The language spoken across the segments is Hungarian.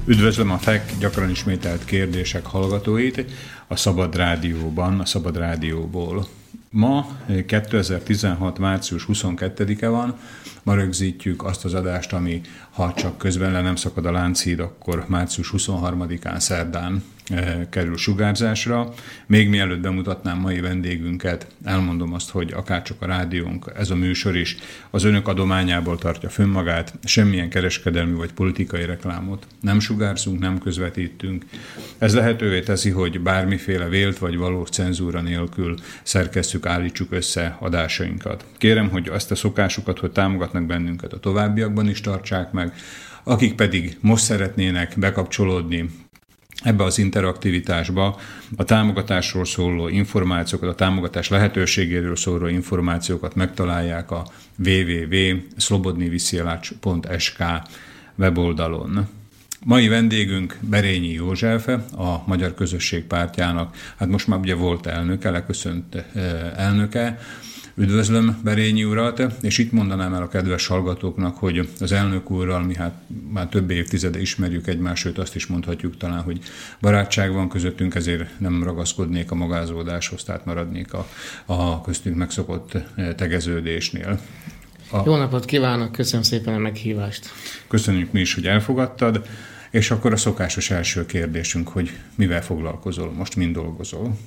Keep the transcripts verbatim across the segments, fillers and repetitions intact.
Üdvözlöm a ef e ká gyakran ismételt kérdések hallgatóit a Szabad Rádióban, a Szabad Rádióból. Ma kétezer-tizenhat. március huszonkettedike van, ma rögzítjük azt az adást, ami ha csak közben le nem szakad a Lánchíd, akkor március huszonharmadikán szerdán e, kerül sugárzásra. Még mielőtt bemutatnám mai vendégünket, elmondom azt, hogy akárcsak a rádiónk, ez a műsor is az önök adományából tartja fönn magát, semmilyen kereskedelmi vagy politikai reklámot nem sugárzunk, nem közvetítünk. Ez lehetővé teszi, hogy bármiféle vélt vagy valós cenzúra nélkül szerkesztjük, állítsuk össze adásainkat. Kérem, hogy azt a szokásukat, hogy támogatnak bennünket, a továbbiakban is tartsák meg, akik pedig most szeretnének bekapcsolódni ebbe az interaktivitásba, a támogatásról szóló információkat, a támogatás lehetőségéről szóló információkat megtalálják a double-u double-u double-u pont slobodny vysielac pont es ká weboldalon. Mai vendégünk Berényi József, a Magyar Közösség Pártjának, hát most már ugye volt elnöke, leköszönt elnöke. Üdvözlöm Berényi urat, és itt mondanám el a kedves hallgatóknak, hogy az elnök úrral mi hát már több évtizede ismerjük egymást, sőt azt is mondhatjuk talán, hogy barátság van közöttünk, ezért nem ragaszkodnék a magázódáshoz, tehát maradnék a, a köztünk megszokott tegeződésnél. A... Jó napot kívánok, köszönöm szépen a meghívást. Köszönjük mi is, hogy elfogadtad, és akkor a szokásos első kérdésünk, hogy mivel foglalkozol, most mind dolgozol?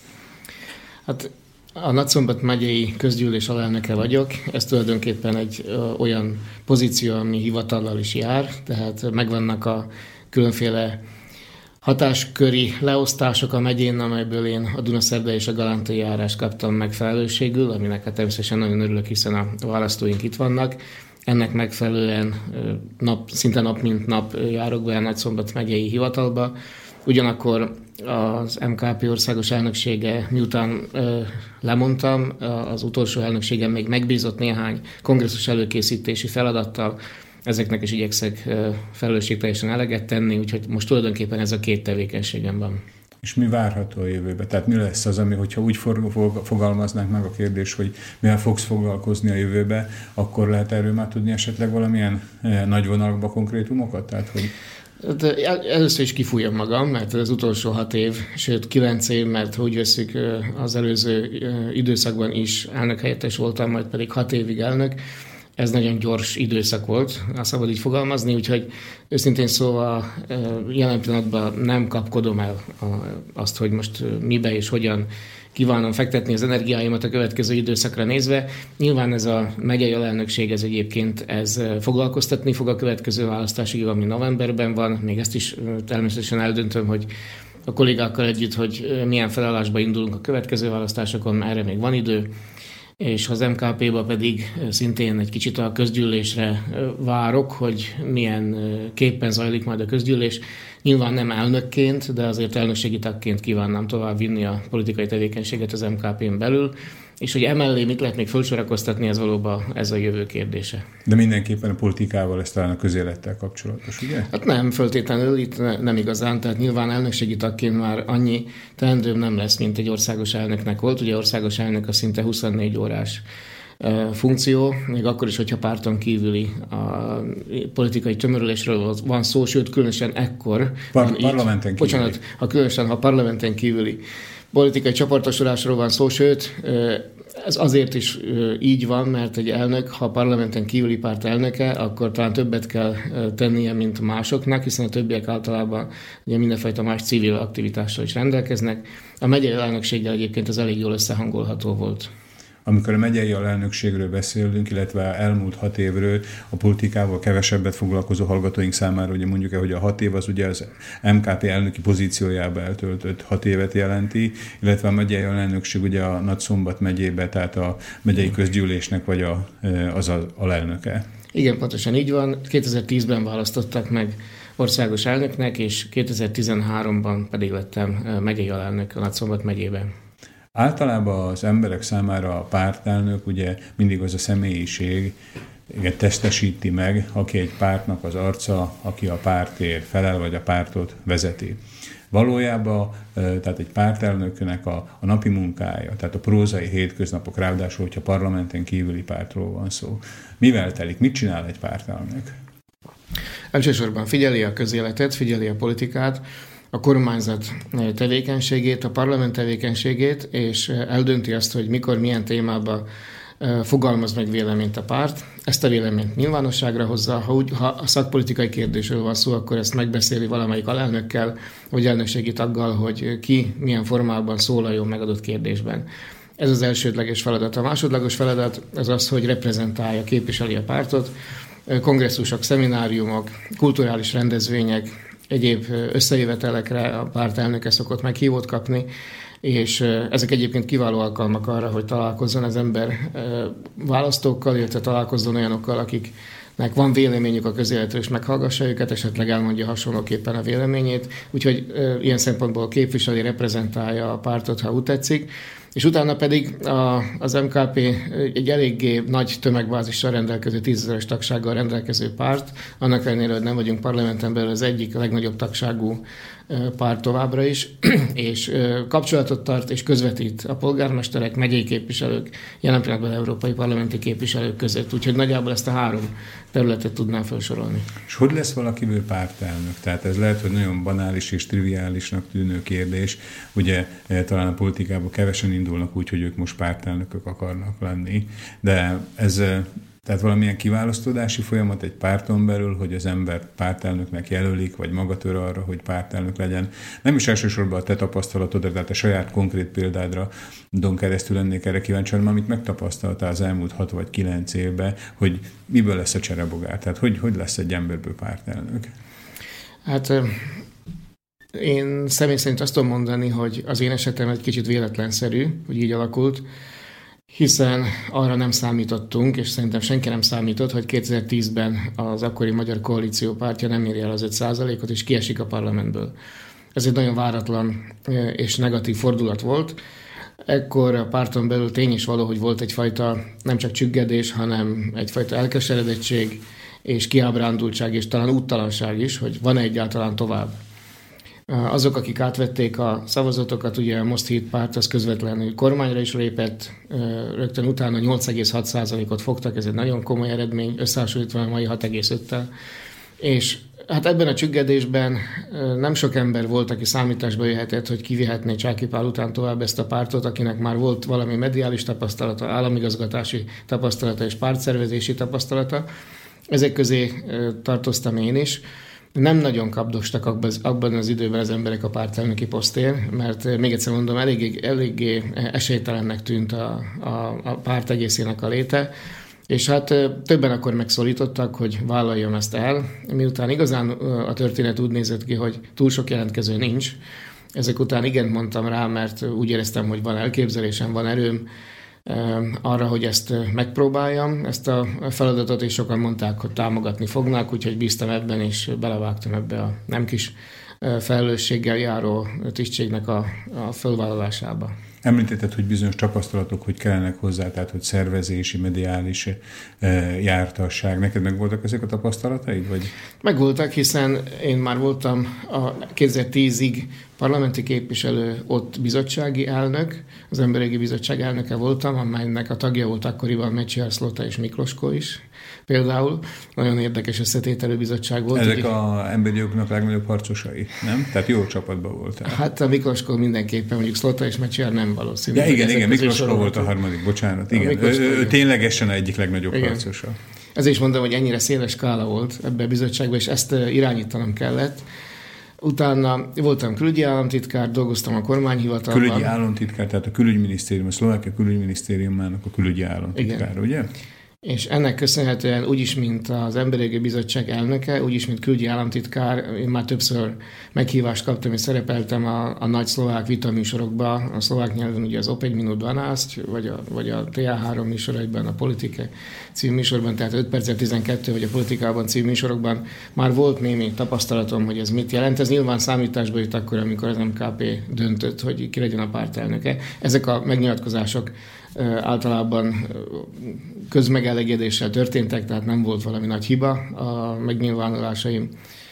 Hát a Nagyszombat megyei közgyűlés alelnöke vagyok, ez tulajdonképpen egy ö, olyan pozíció, ami hivatallal is jár, tehát megvannak a különféle hatásköri leosztások a megyén, amelyből én a Dunaszerdai és a Galántai járást kaptam meg felelősségül, aminek hát természetesen nagyon örülök, hiszen a választóink itt vannak. Ennek megfelelően nap, szinte nap mint nap járok be a Nagyszombat megyei hivatalba. Ugyanakkor az em ká pé országos elnöksége, miután ö, lemondtam, az utolsó elnökségem még megbízott néhány kongresszus előkészítési feladattal, ezeknek is igyekszek ö, felelősségteljesen eleget tenni, úgyhogy most tulajdonképpen ez a két tevékenységem van. És mi várható a jövőben? Tehát mi lesz az, ami, hogyha úgy fogalmaznánk meg a kérdés, hogy mivel fogsz foglalkozni a jövőbe, akkor lehet erről már tudni esetleg valamilyen eh, nagy vonalakba konkrétumokat? Tehát, hogy... Először is kifújom magam, mert az utolsó hat év, sőt kilenc év, mert úgy veszük, az előző időszakban is elnökhelyettes voltam, majd pedig hat évig elnök. Ez nagyon gyors időszak volt, azt szabad így fogalmazni, úgyhogy őszintén szóval jelen pillanatban nem kapkodom el azt, hogy most mibe és hogyan kívánom fektetni az energiáimat a következő időszakra nézve. Nyilván ez a megyei alelnökség, ez egyébként ez foglalkoztatni fog a következő választásig, ami novemberben van. Még ezt is természetesen eldöntöm, hogy a kollégákkal együtt, hogy milyen felállásba indulunk a következő választásokon, erre még van idő. És az em ká pé-ba pedig szintén egy kicsit a közgyűlésre várok, hogy milyen képpen zajlik majd a közgyűlés. Nyilván nem elnökként, de azért elnökségi tagként kívánnám tovább vinni a politikai tevékenységet az em ká pén belül, és hogy emellé mit lehet még felsorakoztatni, ez valóban ez a jövő kérdése. De mindenképpen a politikával, ez talán a közélettel kapcsolatos, ugye? Hát nem, föltétlenül itt ne, nem igazán, tehát nyilván elnökségi tagként már annyi teendőm nem lesz, mint egy országos elnöknek volt. Ugye országos elnök a szinte huszonnégy órás funkció, még akkor is, hogyha párton kívüli a politikai tömörülésről van szó, sőt, különösen ekkor. Par- parlamenten kívüli. Bocsánat, ha különösen, ha parlamenten kívüli politikai csoportosulásról van szó, sőt, ez azért is így van, mert egy elnök, ha parlamenten kívüli párt elnöke, akkor talán többet kell tennie, mint másoknak, hiszen a többiek általában ugye mindenfajta más civil aktivitással is rendelkeznek. A megyei elnökséggel egyébként ez elég jól összehangolható volt. Amikor a megyei alelnökségről beszélünk, illetve elmúlt hat évről a politikával kevesebbet foglalkozó hallgatóink számára, ugye mondjuk el, hogy a hat év az ugye az em ká pé elnöki pozíciójába eltöltött hat évet jelenti, illetve a megyei alelnökség ugye a Nagyszombat megyébe, tehát a megyei közgyűlésnek vagy a, az az alelnöke. Igen, pontosan így van. kétezer-tízben választottak meg országos elnöknek, és kétezer-tizenháromban pedig lettem megyei alelnök a Nagyszombat megyében. Általában az emberek számára a pártelnök ugye mindig az a személyiség testesíti meg, aki egy pártnak az arca, aki a pártért felel, vagy a pártot vezeti. Valójában tehát egy pártelnöknek a, a napi munkája, tehát a prózai hétköznapok, ráadásul, hogyha parlamenten kívüli pártról van szó. Mivel telik? Mit csinál egy pártelnök? Elsősorban figyeli a közéletet, figyeli a politikát, a kormányzat tevékenységét, a parlament tevékenységét, és eldönti azt, hogy mikor, milyen témában fogalmaz meg véleményt a párt. Ezt a véleményt nyilvánosságra hozza, ha, úgy, ha a szakpolitikai kérdésről van szó, akkor ezt megbeszéli valamelyik alelnökkel, vagy elnökségi taggal, hogy ki milyen formában szólaljon megadott kérdésben. Ez az elsődleges feladat. A másodlagos feladat az az, hogy reprezentálja, képviseli a pártot. Kongresszusok, szemináriumok, kulturális rendezvények, egyéb összejövetelekre a pártelnöke szokott meghívót kapni, és ezek egyébként kiváló alkalmak arra, hogy találkozzon az ember választókkal, illetve találkozzon olyanokkal, akiknek van véleményük a közéletről, és meghallgassa őket, esetleg elmondja hasonlóképpen a véleményét, úgyhogy ilyen szempontból képviseli, reprezentálja a pártot, ha úgy tetszik. És utána pedig a, az em ká pé egy eléggé nagy tömegbázissal rendelkező, tízezeres tagsággal rendelkező párt, annak ellenére, hogy nem vagyunk parlamenten belül az egyik legnagyobb tagságú párt továbbra is, és kapcsolatot tart és közvetít a polgármesterek, megyei képviselők, jelen pillanatban európai parlamenti képviselők között. Úgyhogy nagyjából ezt a három területet tudnám felsorolni. És hogy lesz valakiből pártelnök? Tehát ez lehet, hogy nagyon banális és triviálisnak tűnő kérdés. Ugye talán a politikában kevesen indulnak úgy, hogy ők most pártelnökök akarnak lenni, de ez... Tehát valamilyen kiválasztódási folyamat egy párton belül, hogy az ember pártelnöknek jelölik, vagy maga tör arra, hogy pártelnök legyen. Nem is elsősorban a te tapasztalatodra, tehát a saját konkrét példádra don keresztül lennék erre kíváncsi, hanem amit megtapasztaltál az elmúlt hat vagy kilenc évben, hogy miből lesz a cserebogár, tehát hogy, hogy lesz egy emberből pártelnök? Hát én személy szerint azt tudom mondani, hogy az én esetem egy kicsit véletlenszerű, hogy így alakult, hiszen arra nem számítottunk, és szerintem senki nem számított, hogy kétezer-tízben az akkori Magyar Koalíció pártja nem érje el az öt százalékot, és kiesik a parlamentből. Ez egy nagyon váratlan és negatív fordulat volt. Ekkor a párton belül tény is való, hogy volt egyfajta nem csak csüggedés, hanem egyfajta elkeseredettség és kiábrándultság, és talán úttalanság is, hogy van-e egyáltalán tovább. Azok, akik átvették a szavazatokat, ugye a Most Hit párt az közvetlenül kormányra is lépett, rögtön utána nyolc egész hat százalékot fogtak, ez egy nagyon komoly eredmény, összehasonlítva a mai hat egész öttel. És hát ebben a csüggedésben nem sok ember volt, aki számításba jöhetett, hogy kivihetné Csáky Pál után tovább ezt a pártot, akinek már volt valami mediális tapasztalata, államigazgatási tapasztalata és pártszervezési tapasztalata. Ezek közé tartoztam én is. Nem nagyon kapdostak abban az időben az emberek a pártelnöki posztért, mert még egyszer mondom, eléggé, eléggé esélytelennek tűnt a, a, a párt egészének a léte, és hát többen akkor megszólítottak, hogy vállaljam ezt el, miután igazán a történet úgy nézett ki, hogy túl sok jelentkező nincs. Ezek után igent mondtam rá, mert úgy éreztem, hogy van elképzelésem, van erőm arra, hogy ezt megpróbáljam, ezt a feladatot, és sokan mondták, hogy támogatni fognak, úgyhogy bíztam ebben, és belevágtam ebbe a nem kis felelősséggel járó tisztségnek a, a fölvállalásába. Említetted, hogy bizonyos tapasztalatok, hogy kellenek hozzá, tehát hogy szervezési, mediális jártasság. Neked meg voltak ezek a tapasztalataid? Vagy? Megvoltak, hiszen én már voltam a kétezer-tízig parlamenti képviselő, ott bizottsági elnök, az Emberjogi Bizottság elnöke voltam, amelynek a tagja volt akkoriban Mečiar, Szlota és Miklosko is. Például nagyon érdekes összetételű bizottság volt. Ezek az emberi jogoknak legnagyobb harcosai, nem? Tehát jó csapatban voltál. Hát a Miklosko mindenképpen, mondjuk Szlota és Mečiar nem valószínű. Ja, igen, igen, Miklosko volt a harmadik, bocsánat. Igen. Ő, ő ténylegesen egyik legnagyobb igen. harcosa. Ezért is mondom, hogy ennyire széles skála volt ebben a bizottságban, és ezt irányítanom kellett. Utána voltam külügyi államtitkár, dolgoztam a kormányhivatalban. Külügyi államtitkár, tehát a külügyminisztérium, a Szlovákia külügyminisztériumának a külügyi államtitkár, igen. Ugye? És ennek köszönhetően úgyis, mint az Emberjogi Bizottság elnöke, úgyis, mint külügyi államtitkár, én már többször meghívást kaptam, és szerepeltem a, a nagy szlovák vitaműsorokban, a szlovák nyelven ugye az Opegy minut dvanást, vagy a, vagy a té á három műsoraiban, a Politike című műsorban, tehát öt percet tizenkettő, vagy a Politikában című műsorokban már volt némi tapasztalatom, hogy ez mit jelent. Ez nyilván számításba jut akkor, amikor az em ká pé döntött, hogy ki legyen a pártelnöke. Ezek a megnyilatkozások általában közmegelégedéssel történtek, tehát nem volt valami nagy hiba a megnyilvánulásaim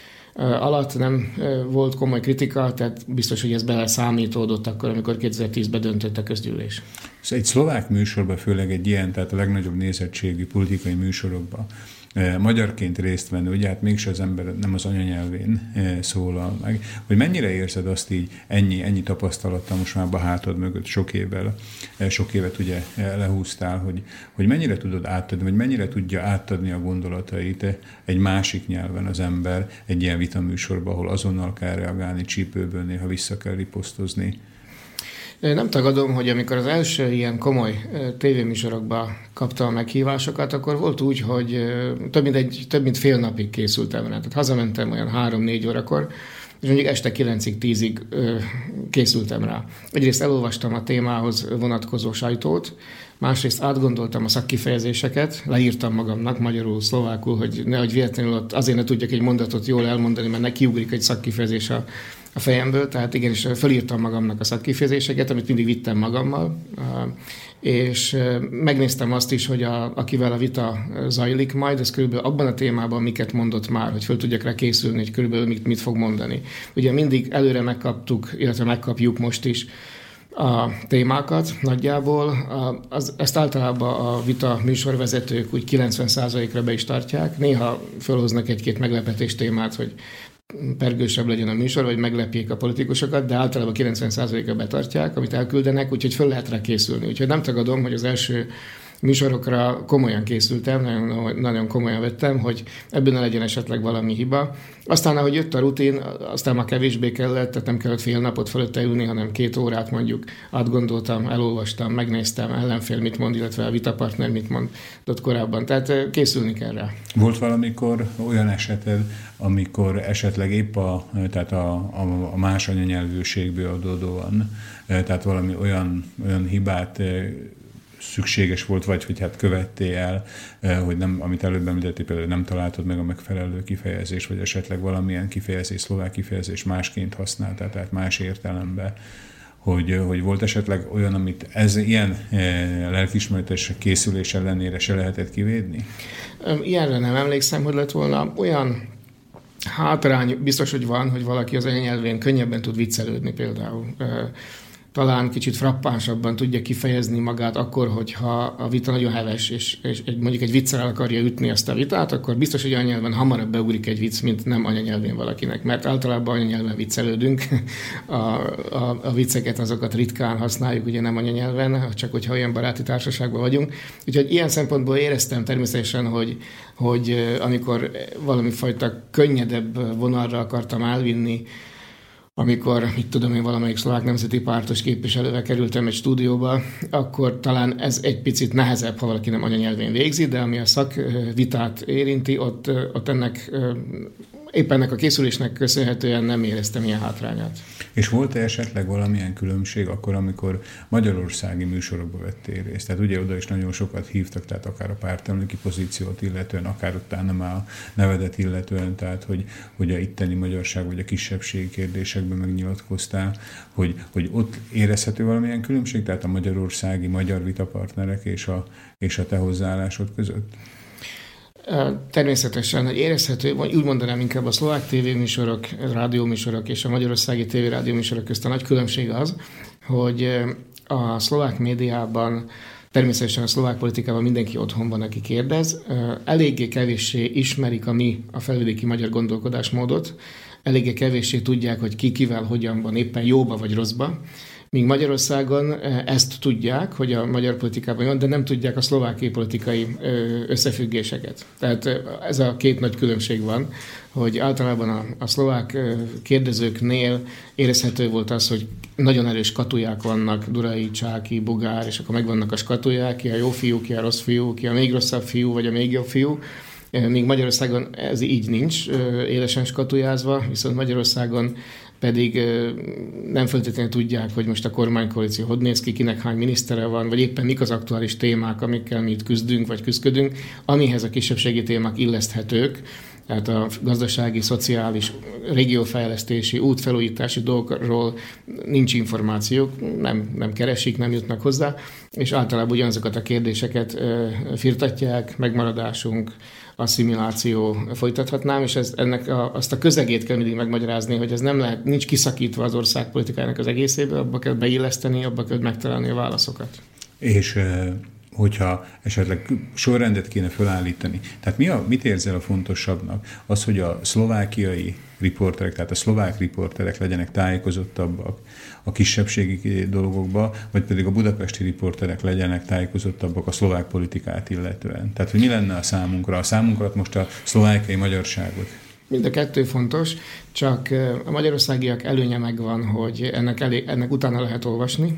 alatt, nem volt komoly kritika, tehát biztos, hogy ez bele számítódott akkor, amikor kétezer-tízben döntött a közgyűlés. Egy szlovák műsorban, főleg egy ilyen, tehát a legnagyobb nézettségű politikai műsorokban, magyarként részt venni, ugye hát mégse az ember nem az anyanyelvén szólal meg, hogy mennyire érzed azt így ennyi, ennyi tapasztalattal most már a hátad mögött sok évvel, sok évet ugye lehúztál, hogy, hogy mennyire tudod átadni, vagy mennyire tudja átadni a gondolatait egy másik nyelven az ember egy ilyen vitaműsorban, ahol azonnal kell reagálni, csípőből néha vissza kell riposztozni. Nem tagadom, hogy amikor az első ilyen komoly tévéműsorokba kaptam a meghívásokat, akkor volt úgy, hogy több mint, egy, több mint fél napig készültem rá. Tehát hazamentem olyan három-négy órakor, és mondjuk este kilencig, tízig készültem rá. Egyrészt elolvastam a témához vonatkozó sajtót, másrészt átgondoltam a szakkifejezéseket, leírtam magamnak magyarul, szlovákul, hogy nehogy véletlenül ott azért ne tudjak egy mondatot jól elmondani, mert ne kiugrik egy szakkifejezés a a fejemből, tehát igenis felírtam magamnak a szakkifejezéseket, amit mindig vittem magammal, és megnéztem azt is, hogy a, akivel a vita zajlik majd, ez körülbelül abban a témában miket mondott már, hogy föl tudjak rá készülni, hogy körülbelül mit, mit fog mondani. Ugye mindig előre megkaptuk, illetve megkapjuk most is a témákat nagyjából. Az, ezt általában a vita műsorvezetők úgy kilencven százalékra be is tartják. Néha felhoznak egy-két meglepetés témát, hogy pergősebb legyen a műsor, vagy meglepjék a politikusokat, de általában kilencven százalékra betartják, amit elküldenek, úgyhogy föl lehet rá készülni. Úgyhogy nem tagadom, hogy az első műsorokra komolyan készültem, nagyon, nagyon komolyan vettem, hogy ebben ne legyen esetleg valami hiba. Aztán, ahogy jött a rutin, aztán már kevésbé kellett, tehát nem kellett fél napot fölötte ülni, hanem két órát mondjuk átgondoltam, elolvastam, megnéztem, ellenfél mit mond, illetve a vitapartner mit mondott korábban. Tehát készülni kell rá. Volt valamikor olyan eseted, amikor esetleg épp a, tehát a, a, a más anyanyelvűségből adódóan, tehát valami olyan, olyan hibát szükséges volt, vagy hogy hát követtél el, hogy nem, amit előbb említettél, például nem találtad meg a megfelelő kifejezés, vagy esetleg valamilyen kifejezés, szlovák kifejezés másként használtál, tehát más értelemben, hogy, hogy volt esetleg olyan, amit ez ilyen lelkiismeretes készülés ellenére se lehetett kivédni? Ilyenre nem emlékszem, hogy lett volna olyan hátrány, biztos, hogy van, hogy valaki az anyanyelvén könnyebben tud viccelődni például. Talán kicsit frappánsabban tudja kifejezni magát akkor, hogyha a vita nagyon heves, és, és egy, mondjuk egy viccel akarja ütni ezt a vitát, akkor biztos, hogy anyanyelven hamarabb beugrik egy vicc, mint nem anyanyelvén valakinek, mert általában anyanyelven viccelődünk, a, a, a vicceket azokat ritkán használjuk, ugye nem anyanyelven, csak hogyha olyan baráti társaságban vagyunk. Úgyhogy ilyen szempontból éreztem természetesen, hogy, hogy amikor valami fajta könnyedebb vonalra akartam elvinni, amikor, mit tudom én, valamelyik szlovák nemzeti pártos képviselővel kerültem egy stúdióba, akkor talán ez egy picit nehezebb, ha valaki nem anyanyelvén végzi, de ami a szakvitát érinti, ott, ott ennek, éppen ennek a készülésnek köszönhetően nem éreztem ilyen hátrányát. És volt-e esetleg valamilyen különbség akkor, amikor magyarországi műsorokba vettél részt? Tehát ugye oda is nagyon sokat hívtak, tehát akár a pártelnöki pozíciót illetően, akár utána már a nevedet illetően, tehát hogy, hogy a itteni magyarság vagy a kisebbségi kérdésekben megnyilatkoztál, hogy, hogy ott érezhető valamilyen különbség, tehát a magyarországi magyar vitapartnerek és a, és a te hozzáállásod között? Természetesen, hogy érezhető, úgy mondanám inkább a szlovák tévéműsorok, rádióműsorok és a magyarországi tévérádióműsorok közt a nagy különbség az, hogy a szlovák médiában, természetesen a szlovák politikában mindenki otthon van, aki kérdez, eléggé kevéssé ismerik a mi, a felvidéki magyar gondolkodásmódot, eléggé kevéssé tudják, hogy ki kivel hogyan van, éppen jóba vagy rosszba. Míg Magyarországon ezt tudják, hogy a magyar politikában van, de nem tudják a szlovákiai politikai összefüggéseket. Tehát ez a két nagy különbség van, hogy általában a, a szlovák kérdezőknél érezhető volt az, hogy nagyon erős skatuják vannak, Durai, Csáki, Bugár, és akkor megvannak a skatuják, ki a jó fiú, ki a rossz fiú, ki a még rosszabb fiú, vagy a még jobb fiú. Míg Magyarországon ez így nincs élesen skatujázva, viszont Magyarországon pedig nem feltétlenül tudják, hogy most a kormánykoalíció hogy néz ki, kinek hány minisztere van, vagy éppen mik az aktuális témák, amikkel mi itt küzdünk, vagy küzdködünk, amihez a kisebbségi témák illeszthetők, tehát a gazdasági, szociális, régiófejlesztési, útfelújítási dolgokról nincs információk, nem, nem keresik, nem jutnak hozzá, és általában ugyanazokat a kérdéseket firtatják, megmaradásunk, asszimiláció folytathatnám, és ez, ennek a, azt a közegét kell mindig megmagyarázni, hogy ez nem lehet, nincs kiszakítva az ország politikájának az egészébe, abba kell beilleszteni, abba kell megtalálni a válaszokat. És hogyha esetleg sorrendet kéne felállítani. Tehát mi a, mit érzel a fontosabbnak? Az, hogy a szlovákiai riporterek, tehát a szlovák riporterek legyenek tájékozottabbak a kisebbségi dolgokba, vagy pedig a budapesti riporterek legyenek tájékozottabbak a szlovák politikát illetően. Tehát, hogy mi lenne a számunkra? A számunkra most a szlovákiai magyarságot. Mind a kettő fontos, csak a magyarországiak előnye megvan, hogy ennek, elé, ennek utána lehet olvasni,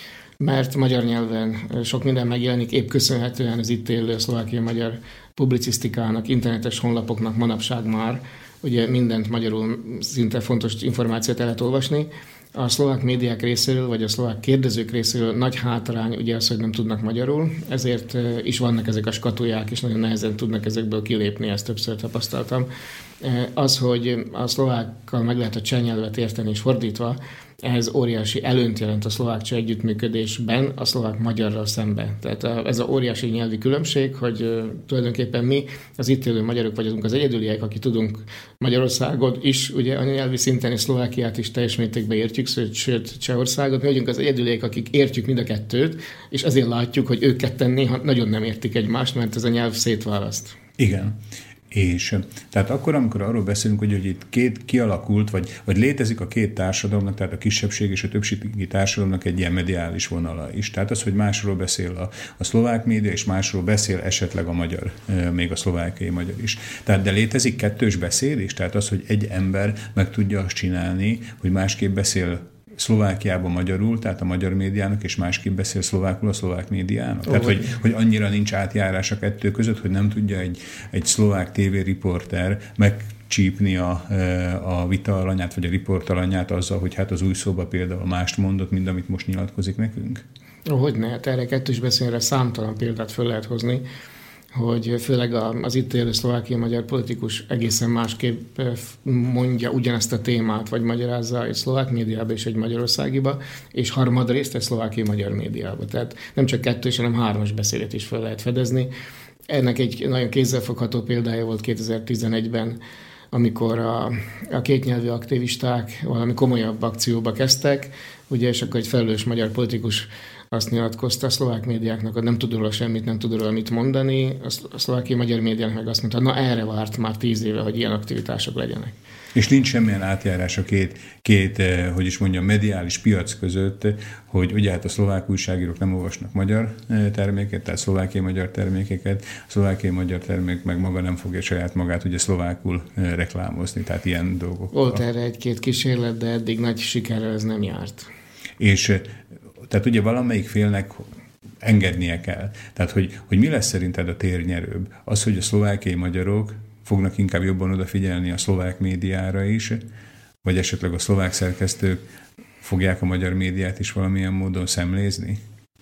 mert magyar nyelven sok minden megjelenik, épp köszönhetően az itt élő szlovákiai magyar publicisztikának, internetes honlapoknak manapság már, ugye mindent magyarul szinte fontos információt el lehet olvasni. A szlovák médiák részéről, vagy a szlovák kérdezők részéről nagy hátrány ugye az, hogy nem tudnak magyarul, ezért is vannak ezek a skatuják, és nagyon nehezen tudnak ezekből kilépni, ezt többször tapasztaltam. Az, hogy a szlovákkal meg lehet a cseh nyelvet érteni, és fordítva, ez óriási előnyt jelent a szlovák-cseh együttműködésben a szlovák-magyarral szemben. Tehát ez a óriási nyelvi különbség, hogy tulajdonképpen mi, az itt élő magyarok vagyunk az egyedüliek, akik tudunk Magyarországot is, ugye a nyelvi szinten és Szlovákiát is teljes mértékben értjük, sőt Csehországot, mi vagyunk az egyedüliek, akik értjük mind a kettőt, és ezért látjuk, hogy ők ketten néha nagyon nem értik egymást, mert ez a nyelv szétválaszt. Igen. És tehát akkor, amikor arról beszélünk, hogy, hogy itt két kialakult, vagy, vagy létezik a két társadalomnak, tehát a kisebbség és a többségi társadalomnak egy ilyen mediális vonala is. Tehát az, hogy másról beszél a, a szlovák média, és másról beszél esetleg a magyar, még a szlovákiai magyar is. Tehát de létezik kettős beszélés, tehát az, hogy egy ember meg tudja azt csinálni, hogy másképp beszél Szlovákiában magyarul, tehát a magyar médiának, és másképp beszél szlovákul a szlovák médiának. Tehát, hogy, hogy annyira nincs átjárás a kettő között, hogy nem tudja egy, egy szlovák tévériporter megcsípni a, a vita alanyát, vagy a riport alanyát azzal, hogy hát az új szóba például mást mondott, mint amit most nyilatkozik nekünk. Hogyne, hát erre kettős beszélre számtalan példát föl lehet hozni, hogy főleg az itt élő szlovákiai magyar politikus egészen másképp mondja ugyanezt a témát, vagy magyarázza egy szlovák médiába és egy magyarországiba, és harmadrészt egy szlovákiai magyar médiába. Tehát nem csak kettős, hanem hármas beszédet is fel lehet fedezni. Ennek egy nagyon kézzelfogható példája volt kétezer-tizenegyben, amikor a, a kétnyelvű aktivisták valami komolyabb akcióba kezdtek, ugye, és akkor egy felelős magyar politikus azt nyilatkozta a szlovák médiáknak, hogy nem tud róla semmit, nem tud róla mit mondani, a szlovákiai magyar médiának meg azt mondta, na erre várt már tíz éve, hogy ilyen aktivitások legyenek. És nincs semmilyen átjárás a két, két, hogy is mondjam, mediális piac között, hogy ugye hát a szlovák újságírók nem olvasnak magyar terméket, tehát szlovákiai magyar termékeket, a szlovákiai magyar termék meg maga nem fogja saját magát ugye szlovákul reklámozni, tehát ilyen dolgok. Volt erre egy-két kísérlet, de eddig nagy sikerrel ez nem járt. És tehát ugye valamelyik félnek engednie kell. Tehát, hogy, hogy mi lesz szerinted a térnyerőbb? Az, hogy a szlovákiai magyarok fognak inkább jobban odafigyelni a szlovák médiára is, vagy esetleg a szlovák szerkesztők fogják a magyar médiát is valamilyen módon szemlézni?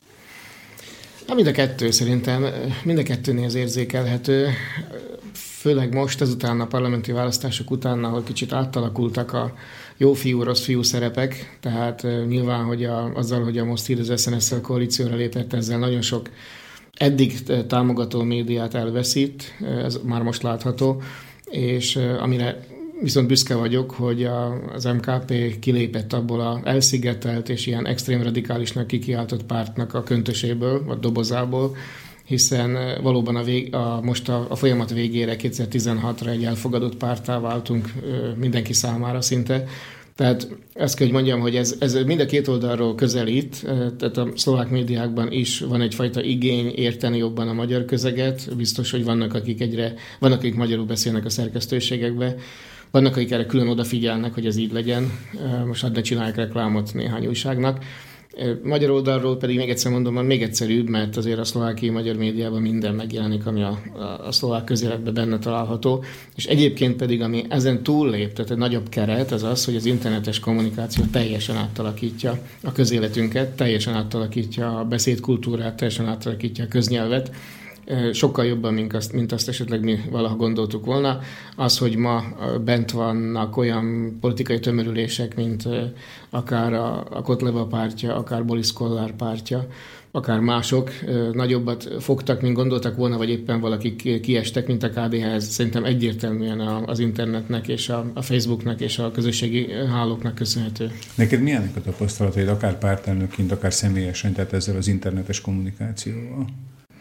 Na, mind a kettő szerintem, mind a kettőnél az érzékelhető, főleg most ezután a parlamenti választások után, ahol kicsit átalakultak a jó fiú, rossz fiú szerepek, tehát nyilván, hogy a, azzal, hogy a Most Hír az es en es-szel koalícióra lépett, ezzel nagyon sok eddig támogató médiát elveszít, ez már most látható, és amire viszont büszke vagyok, hogy a, az em ká pé kilépett abból a elszigetelt és ilyen extrém radikálisnak kikiáltott pártnak a köntöséből, vagy dobozából, hiszen valóban a vég, a, most a, a folyamat végére, kétezer-tizenhatra egy elfogadott párttá váltunk mindenki számára szinte. Tehát ezt kell, hogy mondjam, hogy ez, ez mind a két oldalról közelít, tehát a szlovák médiákban is van egyfajta igény érteni jobban a magyar közeget, biztos, hogy vannak, akik egyre, vannak, akik magyarul beszélnek a szerkesztőségekbe, vannak, akik erre külön odafigyelnek, hogy ez így legyen, most hadd ne csinálják reklámot néhány újságnak. Magyar oldalról pedig még egyszer mondom, van még egyszerűbb, mert azért a szlovákiai magyar médiában minden megjelenik, ami a, a, a szlovák közéletben benne található, és egyébként pedig, ami ezen túllép, tehát egy nagyobb keret, az az, hogy az internetes kommunikáció teljesen átalakítja a közéletünket, teljesen átalakítja a beszédkultúrát, teljesen átalakítja a köznyelvet, sokkal jobban, mint azt, mint azt esetleg mi valaha gondoltuk volna. Az, hogy ma bent vannak olyan politikai tömörülések, mint akár a, a Kotleba pártja, akár Boris Kollár pártja, akár mások nagyobbat fogtak, mint gondoltak volna, vagy éppen valakik kiestek, mint a ká dé há. Ez szerintem egyértelműen az internetnek és a, a Facebooknak és a közösségi hálóknak köszönhető. Neked milyenek a tapasztalataid, akár pártelnökként, akár személyesen, tehát ezzel az internetes kommunikációval?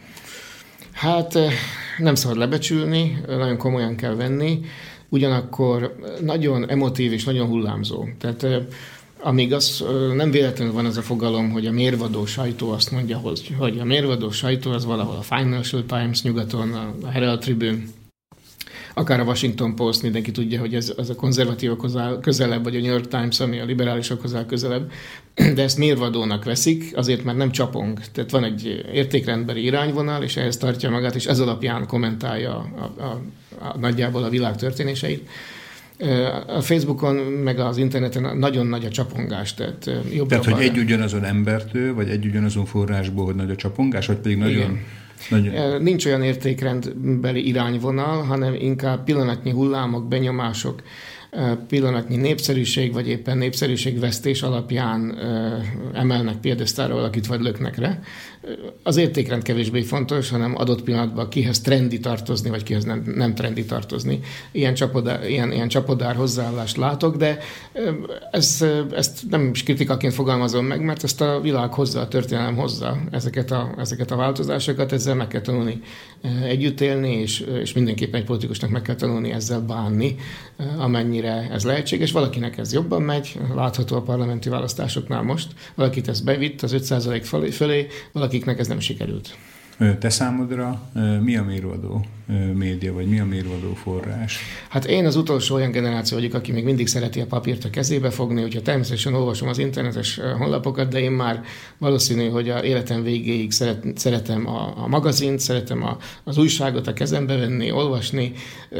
Hát nem szabad lebecsülni, nagyon komolyan kell venni, ugyanakkor nagyon emotív és nagyon hullámzó. Tehát amíg az nem véletlenül van az a fogalom, hogy a mérvadó sajtó azt mondja, hogy a mérvadó sajtó az valahol a Financial Times nyugaton, a Herald Tribune, akár a Washington Post, mindenki tudja, hogy ez, ez a konzervatívokhoz áll közelebb, vagy a New York Times, ami a liberálisokhoz áll közelebb, de ezt mérvadónak veszik, azért mert nem csapong. Tehát van egy értékrendbeli irányvonal, és ehhez tartja magát, és ez alapján kommentálja a, a, a, nagyjából a világ történéseit. A Facebookon, meg az interneten nagyon nagy a csapongás. Tehát, jobb tehát hogy egy ugyanazon embertől, vagy egy ugyanazon forrásból, hogy nagy a csapongás, vagy pedig nagyon... Igen. Nagyon. Nincs olyan értékrendbeli irányvonal, hanem inkább pillanatnyi hullámok, benyomások, pillanatnyi népszerűség, vagy éppen népszerűségvesztés alapján emelnek piedesztára valakit, vagy löknek rá. Az értékrend kevésbé fontos, hanem adott pillanatban kihez trendi tartozni, vagy kihez nem, nem trendi tartozni. Ilyen csapodár, ilyen, ilyen csapodár hozzáállást látok, de ez, ezt nem is kritikaként fogalmazom meg, mert ezt a világ hozza, a történelem hozza ezeket a, ezeket a változásokat, ezzel meg kell tanulni együtt élni, és, és mindenképpen egy politikusnak meg kell tanulni ezzel bánni, amennyire ez lehetséges. Valakinek ez jobban megy, látható a parlamenti választásoknál most, valakit ez bevitt az öt százalék fölé, valakiknek ez nem sikerült. Te számodra mi a mérvadó média, vagy mi a mérvadó forrás? Hát én az utolsó olyan generáció vagyok, aki még mindig szereti a papírt a kezébe fogni, úgyhogy természetesen olvasom az internetes honlapokat, de én már valószínű, hogy a életem végéig szeret, szeretem a, a magazint, szeretem a, az újságot a kezembe venni, olvasni.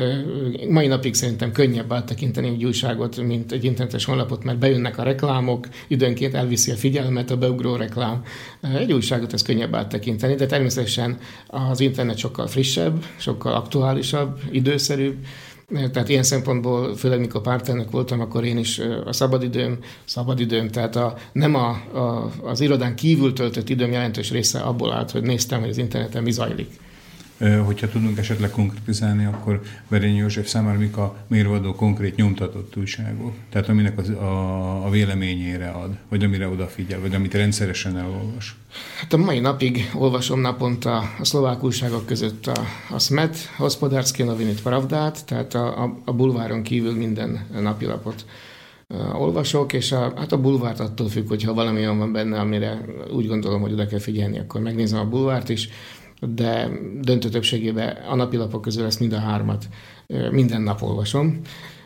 Mai napig szerintem könnyebb áttekinteni egy újságot, mint egy internetes honlapot, mert bejönnek a reklámok, időnként elviszi a figyelmet a beugró reklám. Egy újságot ez könnyebb áttekinteni, de természetesen az internet sokkal frissebb, sokkal aktuálisabb, időszerűbb. Tehát ilyen szempontból, főleg mikor pártelnök voltam, akkor én is a szabadidőm, szabadidőm, tehát a, nem a, a, az irodán kívül töltött időm jelentős része abból állt, hogy néztem, hogy az interneten mi zajlik. Hogyha tudunk esetleg konkrétizálni, akkor Berényi József számára mik a mérvadó konkrét nyomtatott újságok? Tehát aminek az, a, a véleményére ad, vagy amire odafigyel, vagy amit rendszeresen elolvas? Hát a mai napig olvasom naponta a szlovák újságok között a, a Smet, Hospodársky Novinit, Pravdát, tehát a, a, a bulváron kívül minden napilapot uh, olvasok, és a, hát a bulvárt attól függ, hogyha valami olyan van benne, amire úgy gondolom, hogy oda kell figyelni, akkor megnézem a bulvárt is, de döntő többségében a napilapok közül ezt mind a hármat minden nap olvasom.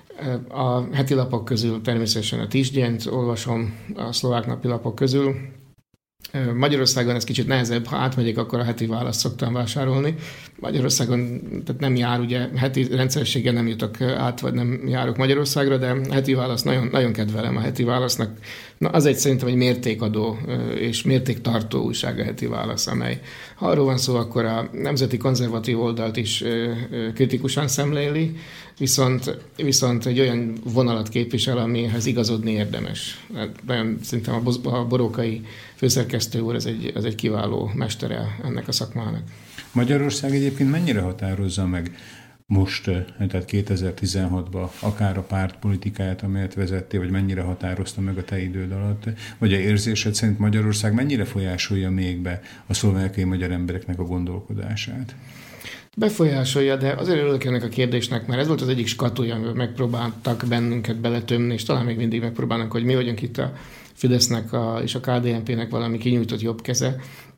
A heti lapok közül természetesen a Tisdjent olvasom a szlovák napilapok közül. Magyarországon ez kicsit nehezebb, ha átmegyek, akkor a heti választ szoktam vásárolni. Magyarországon tehát nem jár, ugye heti rendszerességgel nem jutok át, vagy nem járok Magyarországra, de heti választ nagyon, nagyon kedvelem a heti válasznak. Na, az egy szerintem egy mértékadó és mértéktartó újság a heti válasz, amely ha arról van szó, akkor a nemzeti konzervatív oldalt is kritikusan szemléli, viszont, viszont egy olyan vonalat képvisel, amihez igazodni érdemes. Nagyon szerintem a Borókai főszerkesztő úr, ez egy, ez egy kiváló mestere ennek a szakmának. Magyarország egyébként mennyire határozza meg most, tehát kétezer-tizenhatban akár a párt politikáját, amelyet vezettél, vagy mennyire határozta meg a te időd alatt, vagy a érzésed szerint Magyarország mennyire folyásolja még be a szlovákiai magyar embereknek a gondolkodását? Befolyásolja, de azért örülök ennek a kérdésnek, mert ez volt az egyik skatuja, amivel megpróbáltak bennünket beletömni, és talán még mindig megpróbálnak, hogy mi vagyunk itt a Fidesznek a, és a ká dé en pének valami kinyújtott jobb keze.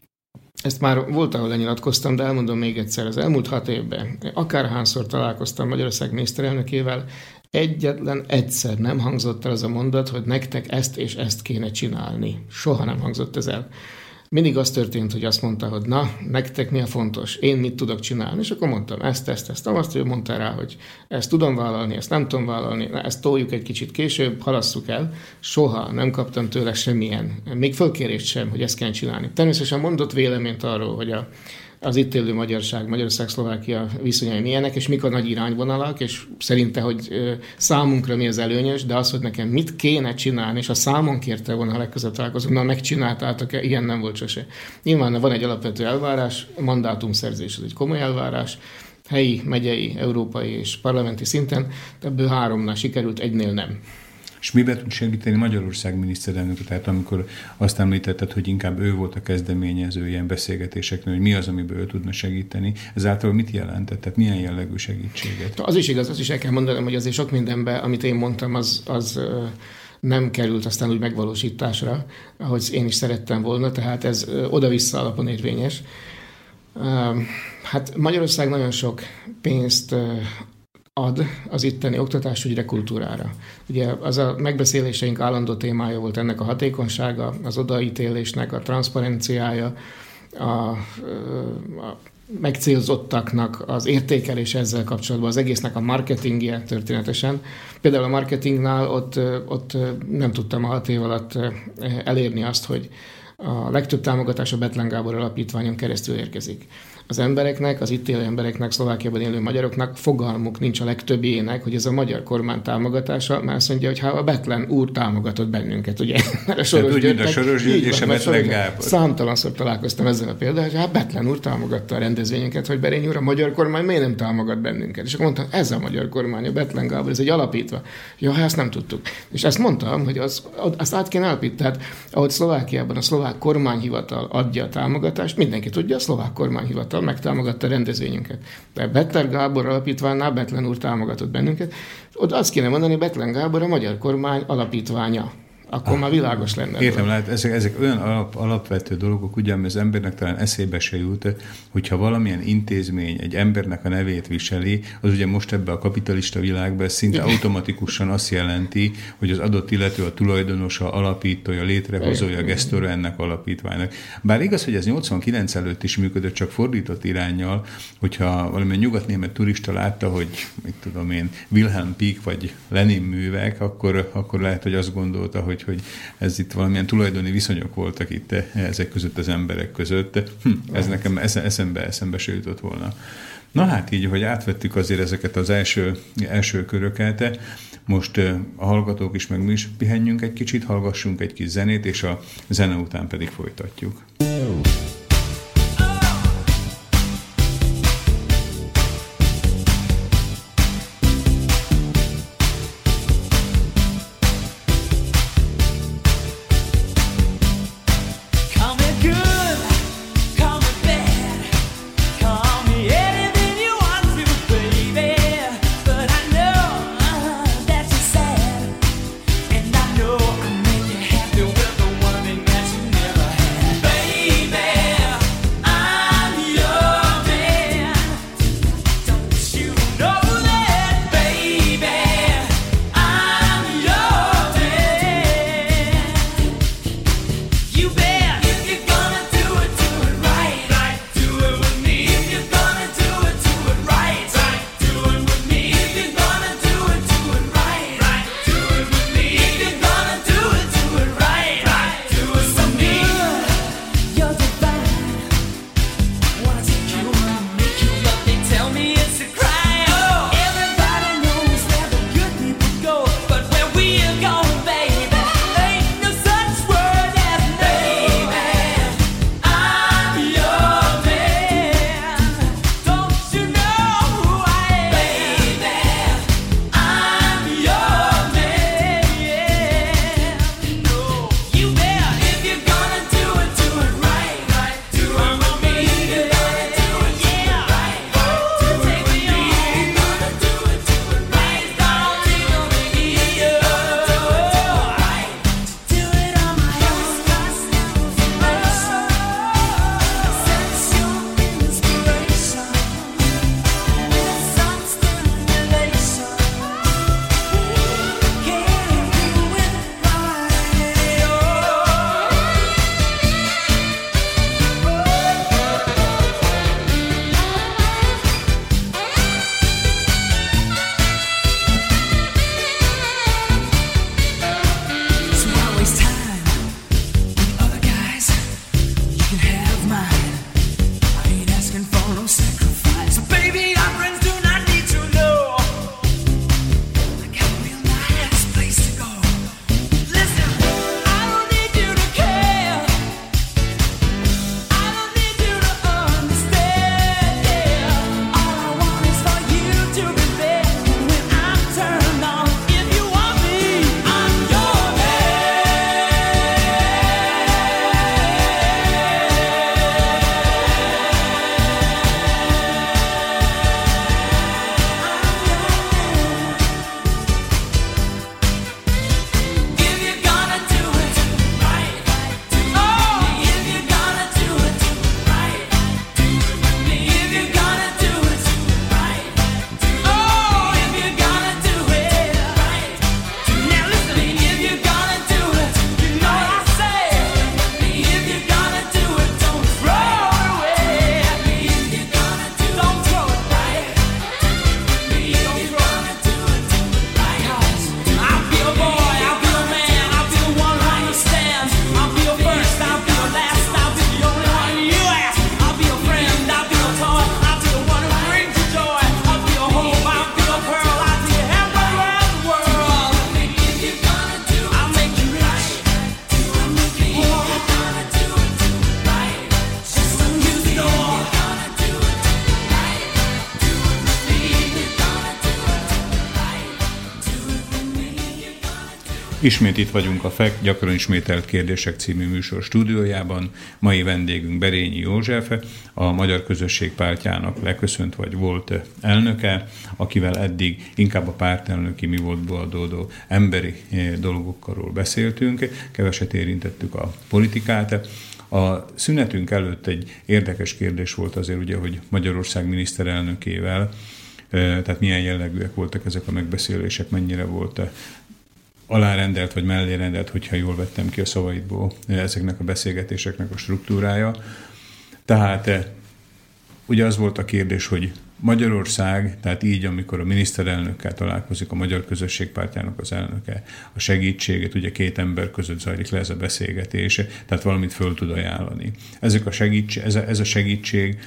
Ezt már volt, ahol lenyilatkoztam, de elmondom még egyszer. Az elmúlt hat évben akárhányszor találkoztam Magyarország miniszterelnökével, egyetlen egyszer nem hangzott el az a mondat, hogy nektek ezt és ezt kéne csinálni. Soha nem hangzott ez el. Mindig az történt, hogy azt mondta, hogy na, nektek mi a fontos, én mit tudok csinálni, és akkor mondtam ezt, ezt, ezt, azt, ő mondta rá, hogy ezt tudom vállalni, ezt nem tudom vállalni, na, ezt toljuk egy kicsit később, halasszuk el. Soha nem kaptam tőle semmilyen, még fölkérést sem, hogy ezt kell csinálni. Természetesen mondott véleményt arról, hogy a az itt élő magyarság, Magyarország-Szlovákia viszonyai milyenek, és mik a nagy irányvonalak, és szerinte, hogy számunkra mi az előnyös, de az, hogy nekem mit kéne csinálni, és a számon kérte volna, ha legközelebb találkozunk, na megcsináltátok-e, ilyen nem volt sose. Nyilván van egy alapvető elvárás, mandátumszerzés, ez egy komoly elvárás, helyi, megyei, európai és parlamenti szinten, ebből háromnál sikerült, egynél nem. És miben tud segíteni Magyarország miniszterelnöke? Tehát amikor azt említetted, hogy inkább ő volt a kezdeményező ilyen beszélgetéseknél, hogy mi az, amiben ő tudna segíteni, ezáltal mit jelentett? Tehát milyen jellegű segítséget? Az is igaz, az is el kell mondanom, hogy azért sok mindenben, amit én mondtam, az, az nem került aztán úgy megvalósításra, ahogy én is szerettem volna, tehát ez oda-vissza alapon érvényes. Hát Magyarország nagyon sok pénzt ad az itteni oktatásügyre, kultúrára. Ugye az a megbeszéléseink állandó témája volt ennek a hatékonysága, az odaítélésnek a transzparenciája, a, a megcélzottaknak az értékelés ezzel kapcsolatban, az egésznek a marketingje történetesen. Például a marketingnál ott, ott nem tudtam a hat év alatt elérni azt, hogy a legtöbb támogatás a Bethlen Gábor Alapítványon keresztül érkezik. Az embereknek, az itt élő embereknek, Szlovákiában élő magyaroknak fogalmuk nincs a legtöbbjének, hogy ez a magyar kormány támogatása, mert azt mondja, hogy ha a Bethlen úr támogatott bennünket, ugye? Mert a Soros úgy, mint a Soros György és a Bethlen Gábor. Számtalanszor találkoztam ezzel a példával, hogy hát Bethlen úr támogatta a rendezvényünket, hogy Berényi úr, a magyar kormány miért nem támogat bennünket? És akkor mondtam, ez a magyar kormány, a Bethlen Gábor, ez egy alapítva. Ja, hát ezt nem tudtuk. És ezt mondtam, hogy az, azt át kéne alapítani. Tehát ahogy Szlovákiában a szlovák kormányhivatal adja a támogatást, mindenki tudja, a szlovák kormányhivatal megtámogatta a rendezvényünket. De Bethlen Gábor Alapítványnál Bethlen úr támogatott bennünket. Ott azt kéne mondani, Bethlen Gábor a magyar kormány alapítványa. Akkor ah, már világos lenne. Értem, lehet, ezek, ezek olyan alap, alapvető dolgok, ugye, ami az embernek talán eszébe se jut, hogyha valamilyen intézmény egy embernek a nevét viseli, az ugye most ebben a kapitalista világban szinte automatikusan azt jelenti, hogy az adott illető a tulajdonosa, alapítója, létrehozója, gesztora ennek alapítványnak. Bár igaz, hogy ez nyolcvankilenc előtt is működött, csak fordított iránnyal, hogyha valamilyen nyugatnémet turista látta, hogy mit tudom én, Wilhelm Pieck vagy Lenin művek, akkor, akkor lehet, hogy azt gondolta, hogy hogy ez itt valamilyen tulajdoni viszonyok voltak itt ezek között az emberek között. Hm, ez nekem eszembe, eszembe se jutott volna. Na hát így, hogy átvettük azért ezeket az első, első köröket, most a hallgatók is, meg mi is pihenjünk egy kicsit, hallgassunk egy kis zenét, és a zene után pedig folytatjuk. Baby Ismét itt vagyunk a ef e ká gyakran ismételt kérdések című műsor stúdiójában. Mai vendégünk Berényi József, a Magyar Közösség Pártjának leköszönt vagy volt elnöke, akivel eddig inkább a pártelnöki mi voltból adódó emberi dolgokról beszéltünk, keveset érintettük a politikát. A szünetünk előtt egy érdekes kérdés volt azért, ugye, hogy Magyarország miniszterelnökével, tehát milyen jellegűek voltak ezek a megbeszélések, mennyire volt alárendelt vagy mellérendelt, hogyha jól vettem ki a szavaidból ezeknek a beszélgetéseknek a struktúrája. Tehát ugye az volt a kérdés, hogy Magyarország, tehát így, amikor a miniszterelnökkel találkozik a Magyar Közösség Pártjának az elnöke, a segítséget, ugye két ember között zajlik le ez a beszélgetés, tehát valamit föl tud ajánlani. Ezek a segítség, ez, a, ez a segítség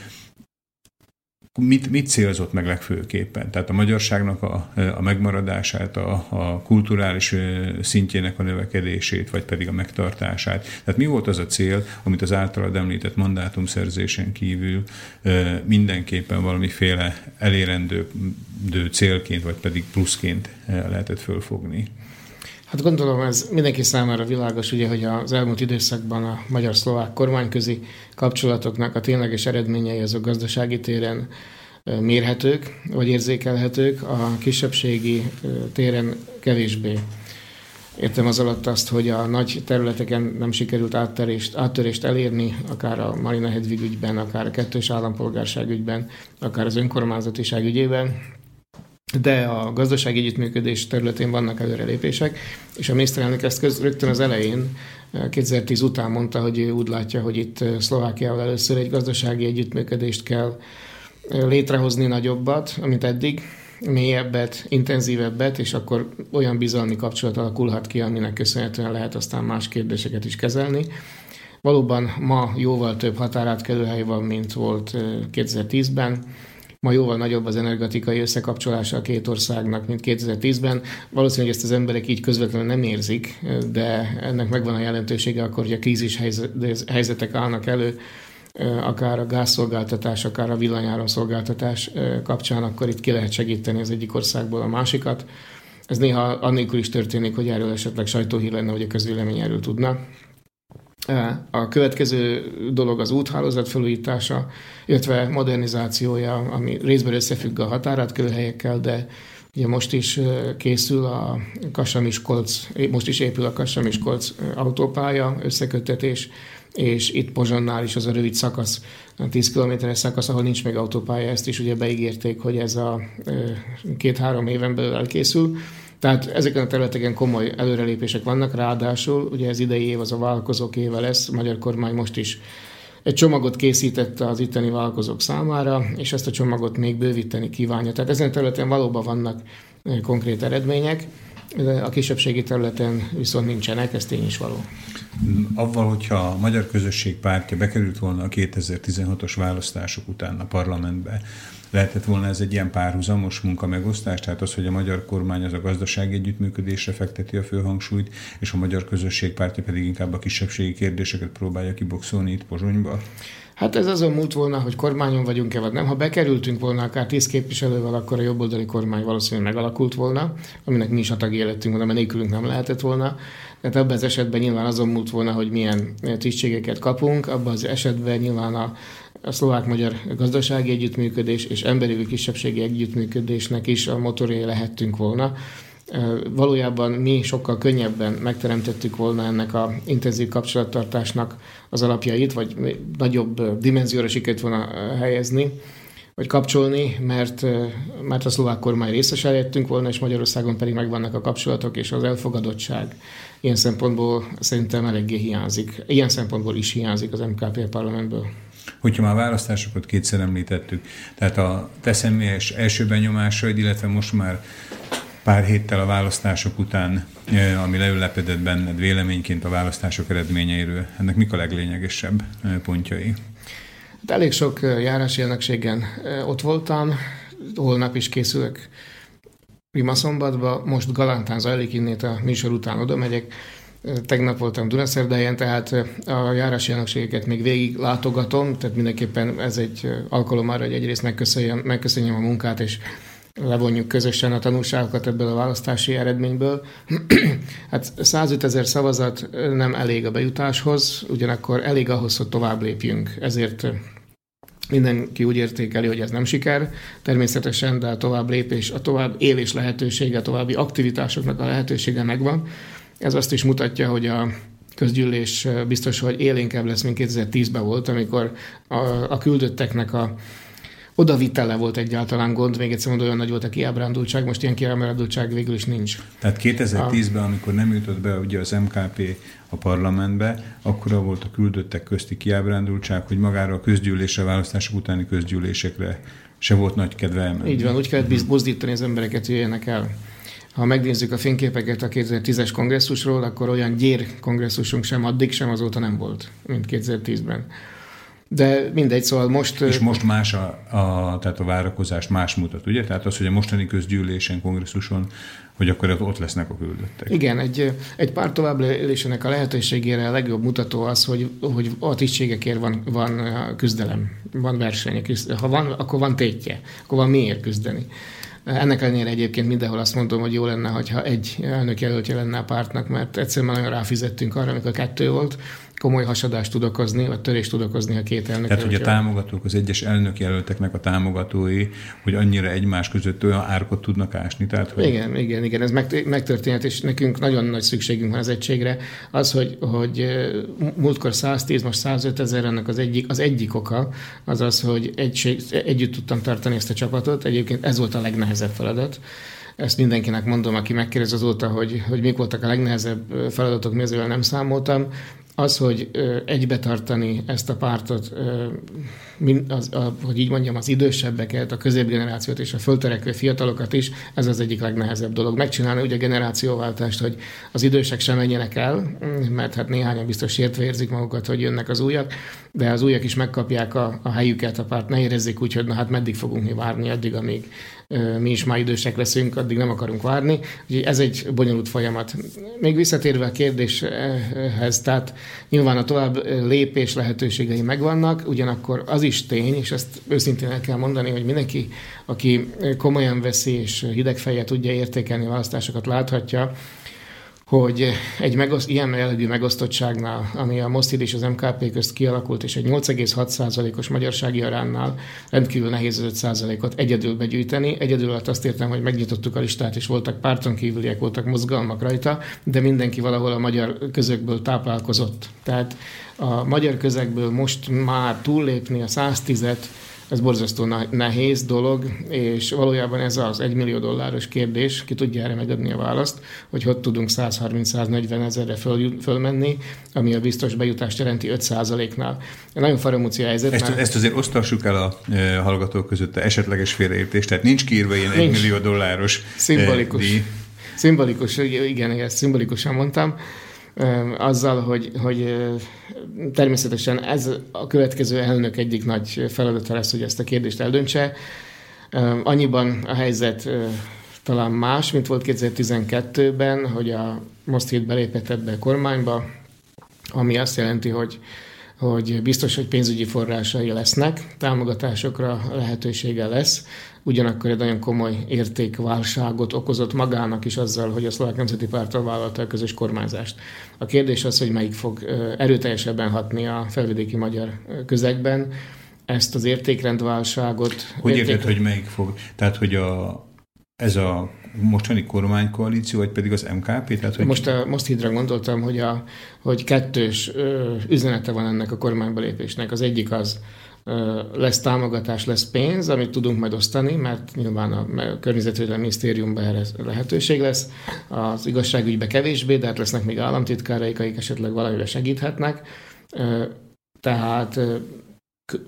Mit, mit célzott meg legfőképpen? Tehát a magyarságnak a, a megmaradását, a, a kulturális szintjének a növekedését, vagy pedig a megtartását. Tehát mi volt az a cél, amit az általad említett mandátumszerzésen kívül mindenképpen valamiféle elérendő célként, vagy pedig pluszként lehetett fölfogni? Hát gondolom, ez mindenki számára világos, ugye, hogy az elmúlt időszakban a magyar-szlovák kormányközi kapcsolatoknak a tényleges eredményei azok gazdasági téren mérhetők, vagy érzékelhetők, a kisebbségi téren kevésbé. Értem az alatt azt, hogy a nagy területeken nem sikerült áttörést, áttörést elérni, akár a Marina Hedvig ügyben, akár a kettős állampolgárság ügyben, akár az önkormányzatiság ügyében, de a gazdasági együttműködés területén vannak előrelépések, és a miniszterelnök ezt köz, rögtön az elején, kétezer-tíz után mondta, hogy ő úgy látja, hogy itt Szlovákiával először egy gazdasági együttműködést kell létrehozni nagyobbat, amit eddig, mélyebbet, intenzívebbet, és akkor olyan bizalmi kapcsolat alakulhat ki, aminek köszönhetően lehet aztán más kérdéseket is kezelni. Valóban ma jóval több határátkelőhely van, mint volt kétezer-tízben, ma jóval nagyobb az energetikai összekapcsolása a két országnak, mint kétezer-tízben. Valószínűleg ezt az emberek így közvetlenül nem érzik, de ennek megvan a jelentősége akkor, hogy a krízis helyzetek állnak elő, akár a gázszolgáltatás, akár a villanyáramszolgáltatás kapcsán, akkor itt ki lehet segíteni az egyik országból a másikat. Ez néha annélkül is történik, hogy erről esetleg sajtóhír lenne, hogy a közvélemény erről tudna. A következő dolog az úthálózat felújítása, illetve modernizációja, ami részben összefügg a határátkelőhelyekkel, de ugye most is készül a Kassa-Miskolc, most is épül a Kassa-Miskolc autópálya összeköttetés, és itt Pozsonnál is az a rövid szakasz, a tíz kilométeres szakasz, ahol nincs még autópálya, ezt is ugye beígérték, hogy ez a két-három éven belül elkészül. Tehát ezeken a területeken komoly előrelépések vannak, ráadásul ugye ez idei év az a vállalkozók éve lesz, a magyar kormány most is egy csomagot készítette az itteni vállalkozók számára, és ezt a csomagot még bővíteni kívánja. Tehát ezen a területen valóban vannak konkrét eredmények, de a kisebbségi területen viszont nincsenek, ez tény is való. Avval, hogyha a Magyar Közösség Pártja bekerült volna a kétezer-tizenhatos választások után a parlamentbe, lehetett volna ez egy ilyen párhuzamos munkamegosztás, tehát az, hogy a magyar kormány az a gazdasági együttműködésre fekteti a főhangsúlyt, és a Magyar Közösség Pártja pedig inkább a kisebbségi kérdéseket próbálja kiboxolni itt Pozsonyba? Hát ez azon múlt volna, hogy kormányon vagyunk-e, vagy nem. Ha bekerültünk volna akár tíz képviselővel, akkor a jobboldali kormány valószínűleg megalakult volna, aminek mi is a tagja lettünk volna, mert nélkülünk nem lehetett volna. Tehát abban az esetben nyilván azon múlt volna, hogy milyen tisztségeket kapunk, abban az esetben nyilván a, a szlovák-magyar gazdasági együttműködés és emberi kisebbségi együttműködésnek is a motorjai lehettünk volna. Valójában mi sokkal könnyebben megteremtettük volna ennek a intenzív kapcsolattartásnak az alapjait, vagy nagyobb dimenzióra sikerült volna helyezni, vagy kapcsolni, mert, mert a szlovák kormány részese lettünk volna, és Magyarországon pedig megvannak a kapcsolatok, és az elfogadottság ilyen szempontból szerintem eléggé hiányzik. Ilyen szempontból is hiányzik az em ká pé parlamentből. Hogyha már választásokat kétszer említettük, tehát a te személyes első benyomásaid, illetve most már pár héttel a választások után, ami leülepedett benned véleményként a választások eredményeiről, ennek mik a leglényegesebb pontjai? De elég sok járási elnökségen ott voltam, holnap is készülök Rimaszombatba, most Galántán zajlik, innét a műsor után oda megyek. Tegnap voltam Dunaszerdahelyen, tehát a járási elnökségeket még végig látogatom, tehát mindenképpen ez egy alkalom arra, hogy egyrészt megköszönjem, megköszönjem a munkát, és levonjuk közösen a tanulságokat ebből a választási eredményből. Hát százötezer szavazat nem elég a bejutáshoz, ugyanakkor elég ahhoz, hogy tovább lépjünk. Ezért mindenki úgy értékeli, hogy ez nem siker, természetesen, de a tovább lépés, a tovább élés lehetősége, a további aktivitásoknak a lehetősége megvan. Ez azt is mutatja, hogy a közgyűlés biztos, hogy élénkebb lesz, mint kétezer-tízben volt, amikor a, a küldötteknek a odavitele volt egyáltalán gond, még egyszer mondom, olyan nagy volt a kiábrándultság, most ilyen kiábrándultság végül is nincs. Tehát kétezer-tízben, amikor nem jutott be ugye az em ká pé a parlamentbe, akkora volt a küldöttek közti kiábrándultság, hogy magára a közgyűlésre, választások utáni közgyűlésekre se volt nagy kedve elmenni. Így van, úgy kellett buzdítani az embereket, hogy jöjjenek el. Ha megnézzük a fényképeket a kétezer-tízes kongresszusról, akkor olyan gyér kongresszusunk sem addig, sem azóta nem volt, mint kétezer-tízben. De mindegy, szóval most... És most más a, a, tehát a várakozás más mutat, ugye? Tehát az, hogy a mostani közgyűlésen, kongresszuson, hogy akkor ott lesznek a küldöttek. Igen, egy, egy párt tovább élésének a lehetőségére a legjobb mutató az, hogy, hogy a tisztségekért van, van küzdelem, van verseny. Ha van, akkor van tétje, akkor van miért küzdeni. Ennek ellenére egyébként mindenhol azt mondom, hogy jó lenne, hogyha egy elnök jelöltje lenne a pártnak, mert egyszerűen nagyon ráfizettünk arra, amikor kettő volt, komoly hasadást tud okozni, vagy törést tud okozni a két elnök. Tehát, hogy a támogatók, az egyes elnökjelölteknek a támogatói, hogy annyira egymás között olyan árkot tudnak ásni. Tehát, hogy... Igen, igen, igen, ez megtörténhet, és nekünk nagyon nagy szükségünk van az egységre. Az, hogy, hogy múltkor száztíz, most százöt ezer, ennek az egyik, az egyik oka, az az, hogy egység, együtt tudtam tartani ezt a csapatot. Egyébként ez volt a legnehezebb feladat. Ezt mindenkinek mondom, aki megkérdez azóta, hogy, hogy mik voltak a legnehezebb feladatok, mi ezzel nem számoltam. Az, hogy egybetartani ezt a pártot, az, a, hogy így mondjam, az idősebbeket, a középgenerációt és a föltörekvő fiatalokat is, ez az egyik legnehezebb dolog. Megcsinálni ugye a generációváltást, hogy az idősek sem menjenek el, mert hát néhányan biztos sértve érzik magukat, hogy jönnek az újak, de az újak is megkapják a, a helyüket, a párt ne érezzék úgy, hogy na hát meddig fogunk mi várni, addig, amíg mi is már idősek leszünk, addig nem akarunk várni. Úgyhogy ez egy bonyolult folyamat. Még visszatérve a kérdéshez, tehát nyilván a tovább lépés lehetőségei megvannak, ugyanakkor az is tény, és ezt őszintén el kell mondani, hogy mindenki, aki komolyan veszi és hideg fejjel tudja értékelni a választásokat, láthatja, hogy egy megoszt, ilyen jellegű megosztottságnál, ami a Most Híd és az em ká pé közt kialakult, és egy nyolc egész hat százalékos magyarsági aránnál rendkívül nehéz az öt százalékot egyedül begyűjteni. Egyedül alatt azt értem, hogy megnyitottuk a listát, és voltak párton kívüliek, voltak mozgalmak rajta, de mindenki valahol a magyar közökből táplálkozott. Tehát a magyar közegből most már túllépni a száztízet, ez borzasztó nehéz dolog, és valójában ez az egymillió dolláros kérdés, ki tudja erre megadni a választ, hogy hogy tudunk száz harminc-száznegyven ezerre föl, fölmenni, ami a biztos bejutást jelenti öt százaléknál. Nagyon faramúci helyzet. Ezt, mert... ezt azért osztassuk el a e, hallgatók között a esetleges félreértést, tehát nincs kiírva ilyen egymillió dolláros szimbolikus. díj. Szimbolikus, igen, ezt szimbolikusan mondtam. Azzal, hogy, hogy természetesen ez a következő elnök egyik nagy feladata lesz, hogy ezt a kérdést eldöntse. Annyiban a helyzet talán más, mint volt kétezer-tizenkettőben, hogy a Most Híd belépett ebbe a kormányba, ami azt jelenti, hogy hogy biztos, hogy pénzügyi forrásai lesznek, támogatásokra lehetősége lesz, ugyanakkor egy nagyon komoly értékválságot okozott magának is azzal, hogy a Szlovák Nemzeti Párttal vállalta a közös kormányzást. A kérdés az, hogy melyik fog erőteljesebben hatni a felvidéki magyar közegben, ezt az értékrendválságot... Hogy érték... érted, hogy melyik fog? Tehát, hogy a, ez a mostani kormánykoalíció, vagy pedig az em ká pé? Tehát, hogy... Most a Most Hídra gondoltam, hogy, a, hogy kettős ö, üzenete van ennek a kormányba lépésnek. Az egyik az, ö, lesz támogatás, lesz pénz, amit tudunk majd osztani, mert nyilván a, a Környezetvédelmi Minisztériumban erre lehetőség lesz. Az igazságügyben kevésbé, de hát lesznek még államtitkáraik, akik esetleg valamivel segíthetnek. Ö, tehát ö, k-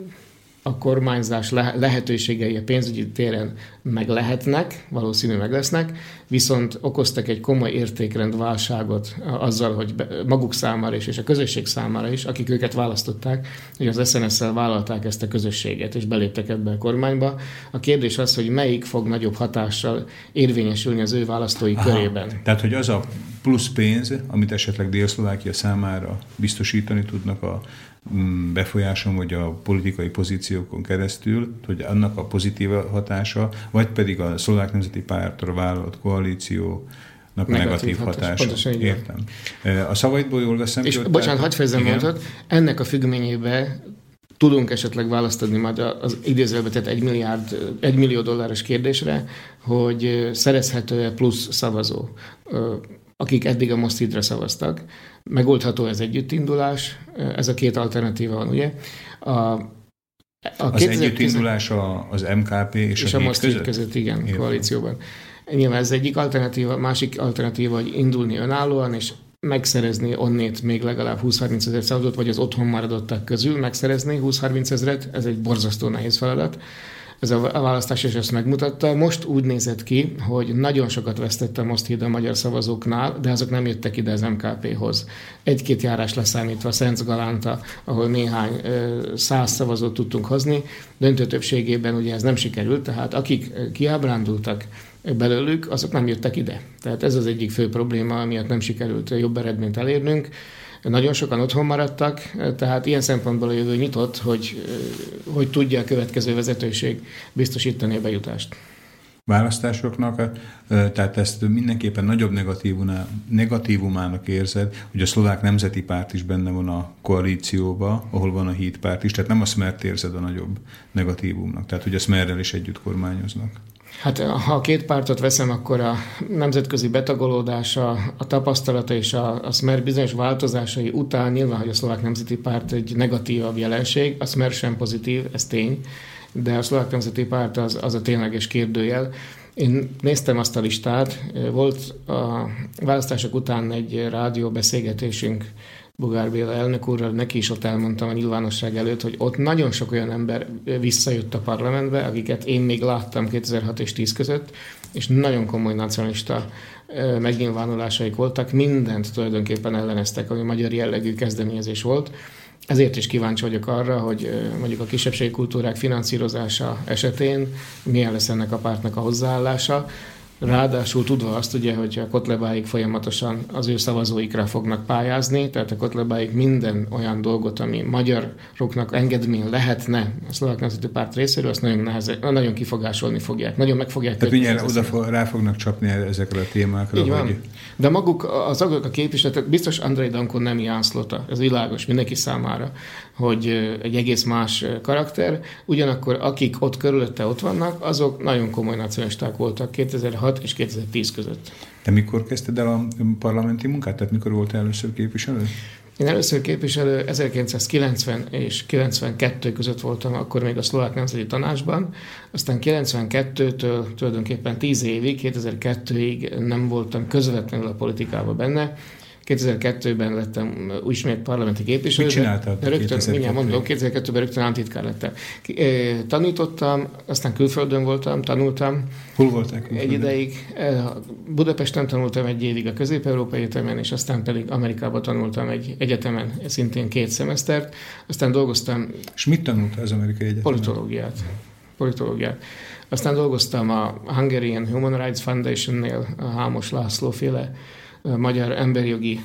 a kormányzás lehetőségei a pénzügyi téren meg lehetnek, valószínű meg lesznek, viszont okoztak egy komoly értékrendválságot azzal, hogy maguk számára is, és a közösség számára is, akik őket választották, hogy az es en es-szel vállalták ezt a közösséget, és beléptek ebbe a kormányba. A kérdés az, hogy melyik fog nagyobb hatással érvényesülni az ő választói Aha, körében. Tehát, hogy az a plusz pénz, amit esetleg Dél-Szlovákia számára biztosítani tudnak a befolyáson vagy a politikai pozíciókon keresztül, hogy annak a pozitív hatása, vagy pedig a Szlovák Nemzeti Pártra vállalt koalíció negatív, negatív hatása. Pontosan, értem. A szavaidból jól veszem. És ki, bocsánat, hadd fejezem mondatot, ennek a függvényében tudunk esetleg választ adni majd az idézőjelbe tett egy milliárd, egy millió dolláros kérdésre, hogy szerezhető-e plusz szavazó, akik eddig a Mosztidra szavaztak. Megoldható ez együttindulás, ez a két alternatíva van, ugye? A, a az együttindulás az em ká pé és, és a, a Mosztid között? között, igen, értem. Koalícióban. Nyilván ez egyik alternatíva, másik alternatíva, hogy indulni önállóan, és megszerezni onnét még legalább húsz-harminc ezer szavazót, vagy az otthon maradottak közül megszerezni húsz-harminc ezret, ez egy borzasztó nehéz feladat. Ez a választás is ezt megmutatta. Most úgy nézett ki, hogy nagyon sokat vesztett a Mosztid a magyar szavazóknál, de azok nem jöttek ide az em ká péhoz. Egy-két járás leszámítva, Szenc Galánta, ahol néhány száz szavazót tudtunk hozni, döntő többségében ugye ez nem sikerült, tehát akik kiábrándultak belőlük, azok nem jöttek ide. Tehát ez az egyik fő probléma, miatt nem sikerült jobb eredményt elérnünk. Nagyon sokan otthon maradtak, tehát ilyen szempontból a jövő nyitott, hogy, hogy tudja a következő vezetőség biztosítani a bejutást. Választásoknak, tehát ezt mindenképpen nagyobb negatívumának érzed, hogy a Szlovák Nemzeti Párt is benne van a koalícióba, ahol van a Híd párt is, tehát nem a Smert érzed a nagyobb negatívumnak, tehát hogy a Smerrel is együtt kormányoznak. Hát ha a két pártot veszem, akkor a nemzetközi betagolódása, a tapasztalata és a, a Smer bizonyos változásai után nyilván, hogy a Szlovák Nemzeti Párt egy negatívabb jelenség, a Smer sem pozitív, ez tény, de a Szlovák Nemzeti Párt az, az a tényleges kérdőjel. Én néztem azt a listát, volt a választások után egy rádióbeszélgetésünk Bugár Béla elnök úrral, neki is ott elmondtam a nyilvánosság előtt, hogy ott nagyon sok olyan ember visszajött a parlamentbe, akiket én még láttam kétezer-hat és tíz között, és nagyon komoly nacionalista megnyilvánulásaik voltak, mindent tulajdonképpen elleneztek, ami magyar jellegű kezdeményezés volt. Ezért is kíváncsi vagyok arra, hogy mondjuk a kisebbségi kultúrák finanszírozása esetén milyen lesz ennek a pártnak a hozzáállása. Ráadásul tudva azt ugye, hogy a Kotlebáik folyamatosan az ő szavazóikra fognak pályázni, tehát a Kotlebáik minden olyan dolgot, ami magyaroknak engedmény lehetne a Szlovák Nemzeti Párt részéről, azt nagyon, nehezen, nagyon kifogásolni fogják, nagyon meg fogják. Tehát mindjárt oda rá fognak csapni ezekre a témákra. Így van. Hogy... De maguk az agok a képviseletek, biztos Andrei Danko nem Ján Szlota, ez világos mindenki számára, hogy egy egész más karakter, ugyanakkor akik ott körülötte ott vannak, azok nagyon komoly nacionalisták voltak kétezer-hat és kétezer-tíz között. Te mikor kezdted el a parlamenti munkát? Tehát mikor volt először képviselő? Én először képviselő ezerkilencszázkilencven és kilencvenkettő között voltam, akkor még a Szlovák Nemzeti Tanácsban, aztán kilencvenkettőtől tulajdonképpen tíz évig, kétezer-kettőig nem voltam közvetlenül a politikában benne. kétezer-kettőben lettem ismét parlamenti képviselő. Mit csináltál? Rögtön, mindjárt mondom, kétezer-kettőben rögtön államtitkár lettem. Tanítottam, aztán külföldön voltam, tanultam. Hol voltál külföldön? Egy ideig. Budapesten tanultam egy évig a Közép-Európai Egyetemen, és aztán pedig Amerikában tanultam egy egyetemen, szintén két szemesztert. Aztán dolgoztam... És mit tanultál az amerikai egyetemen? Politológiát. Politológiát. Aztán dolgoztam a Hungarian Human Rights Foundation-nél, a Hámos László féle magyar emberjogi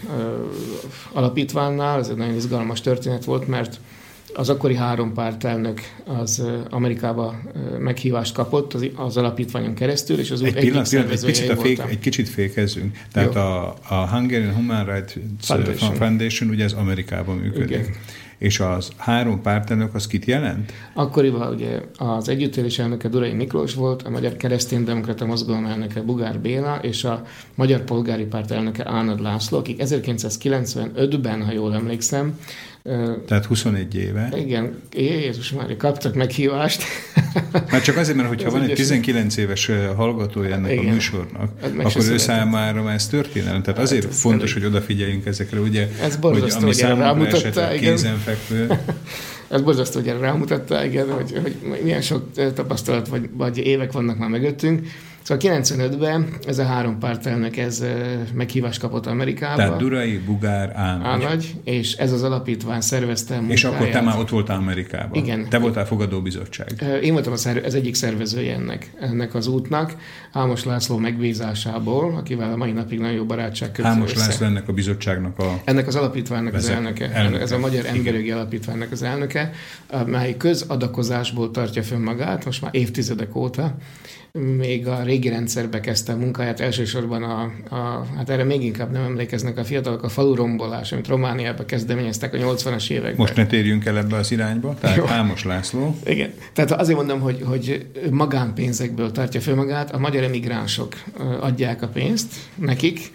alapítványnál. Ez egy nagyon izgalmas történet volt, mert az akkori három pártelnök az Amerikába meghívást kapott az, az alapítványon keresztül, és az egy pillanat, pillanat, egy, picit a fék, egy kicsit fékezzünk. Tehát a, a Hungarian Human Rights Foundation. Foundation ugye az Amerikában működik. Igen. És az három pártelnök az kit jelent? Akkoriban ugye az együttélés elnöke Durai Miklós volt, a Magyar Kereszténydemokrata Mozgalom elnöke Bugár Béla, és a Magyar Polgári Párt elnöke Ánad László, akik ezerkilencszázkilencvenötben, ha jól emlékszem, tehát huszonegy éve. Igen, Jézus Mária, kaptak meghívást. Már csak azért, mert hogyha van egy tizenkilenc éves hallgatója ennek igen. a műsornak, akkor ő számára ez történelem. Tehát azért hát fontos, elég. hogy odafigyeljünk ezekre, ugye, ez hogy ami számunkra esetleg kézenfekvő. Ez borzasztó, hogy erre rámutatta, igen, hogy, hogy milyen sok tapasztalat vagy, vagy évek vannak már mögöttünk. Szóval kilencvenötben ez a három pártelnök ez meghívást kapott Amerikába. Tehát Durai, Bugár, Ánagy. Ánagy, és ez az alapítvány szervezte munkáját. És akkor te már ott voltál Amerikában. Igen. Te voltál fogadóbizottság. Én voltam az egyik szervezője ennek, ennek az útnak, Hámos László megbízásából, akivel a mai napig nagyon jó barátság kötő Hámos össze. László ennek a bizottságnak a... Ennek az alapítványnak vezet, az elnöke. elnöke. Ez a Magyar Emberjogi Alapítványnak az elnöke, mely közadakozásból tartja fönn magát, most már évtizedek óta. Még a régi rendszerbe kezdte a munkáját, elsősorban a, a, hát erre még inkább nem emlékeznek a fiatalok, a falurombolás, amit Romániában kezdeményeztek a nyolcvanas években. Most ne térjünk el ebbe az irányba, tehát jó. Hámos László. Igen, tehát azért mondom, hogy, hogy magánpénzekből tartja föl magát, a magyar emigránsok adják a pénzt nekik,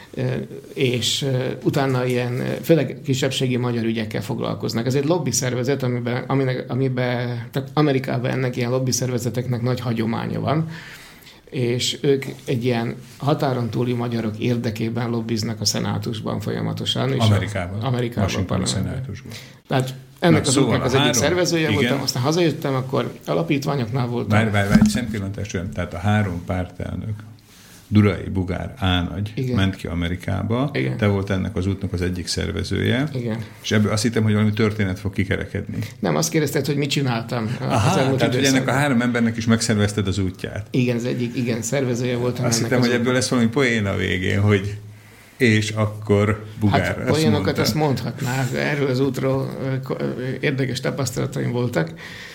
és utána ilyen, főleg kisebbségi magyar ügyekkel foglalkoznak. Ez egy lobby szervezet, amiben, aminek, amiben tehát Amerikában ennek ilyen lobby szervezeteknek nagy hagyománya van, és ők egy ilyen határon túli magyarok érdekében lobbiznak a szenátusban folyamatosan. És Amerikában. A, Amerikában. A szenátusban. Tehát ennek Na, az szóval útnak az három, egyik szervezője igen. voltam, aztán hazajöttem, akkor alapítványoknál voltam. Várj, várj, várj, egy szempillantás, tehát a három pártelnök, Durai, Bugár, Ánagy igen. ment ki Amerikába, igen. te volt ennek az útnak az egyik szervezője, igen. és ebből azt hittem, hogy valami történet fog kikerekedni. Nem, azt kérdezted, hogy mit csináltam. Aha, tehát hogy ennek a három embernek is megszervezted az útját. Igen, az egyik, igen, szervezője voltam. Azt hittem, hogy ebből lesz valami poén a végén, hogy és akkor Bugár. Hát poénokat azt mondhatnák, erről az útról érdekes tapasztalataim voltak,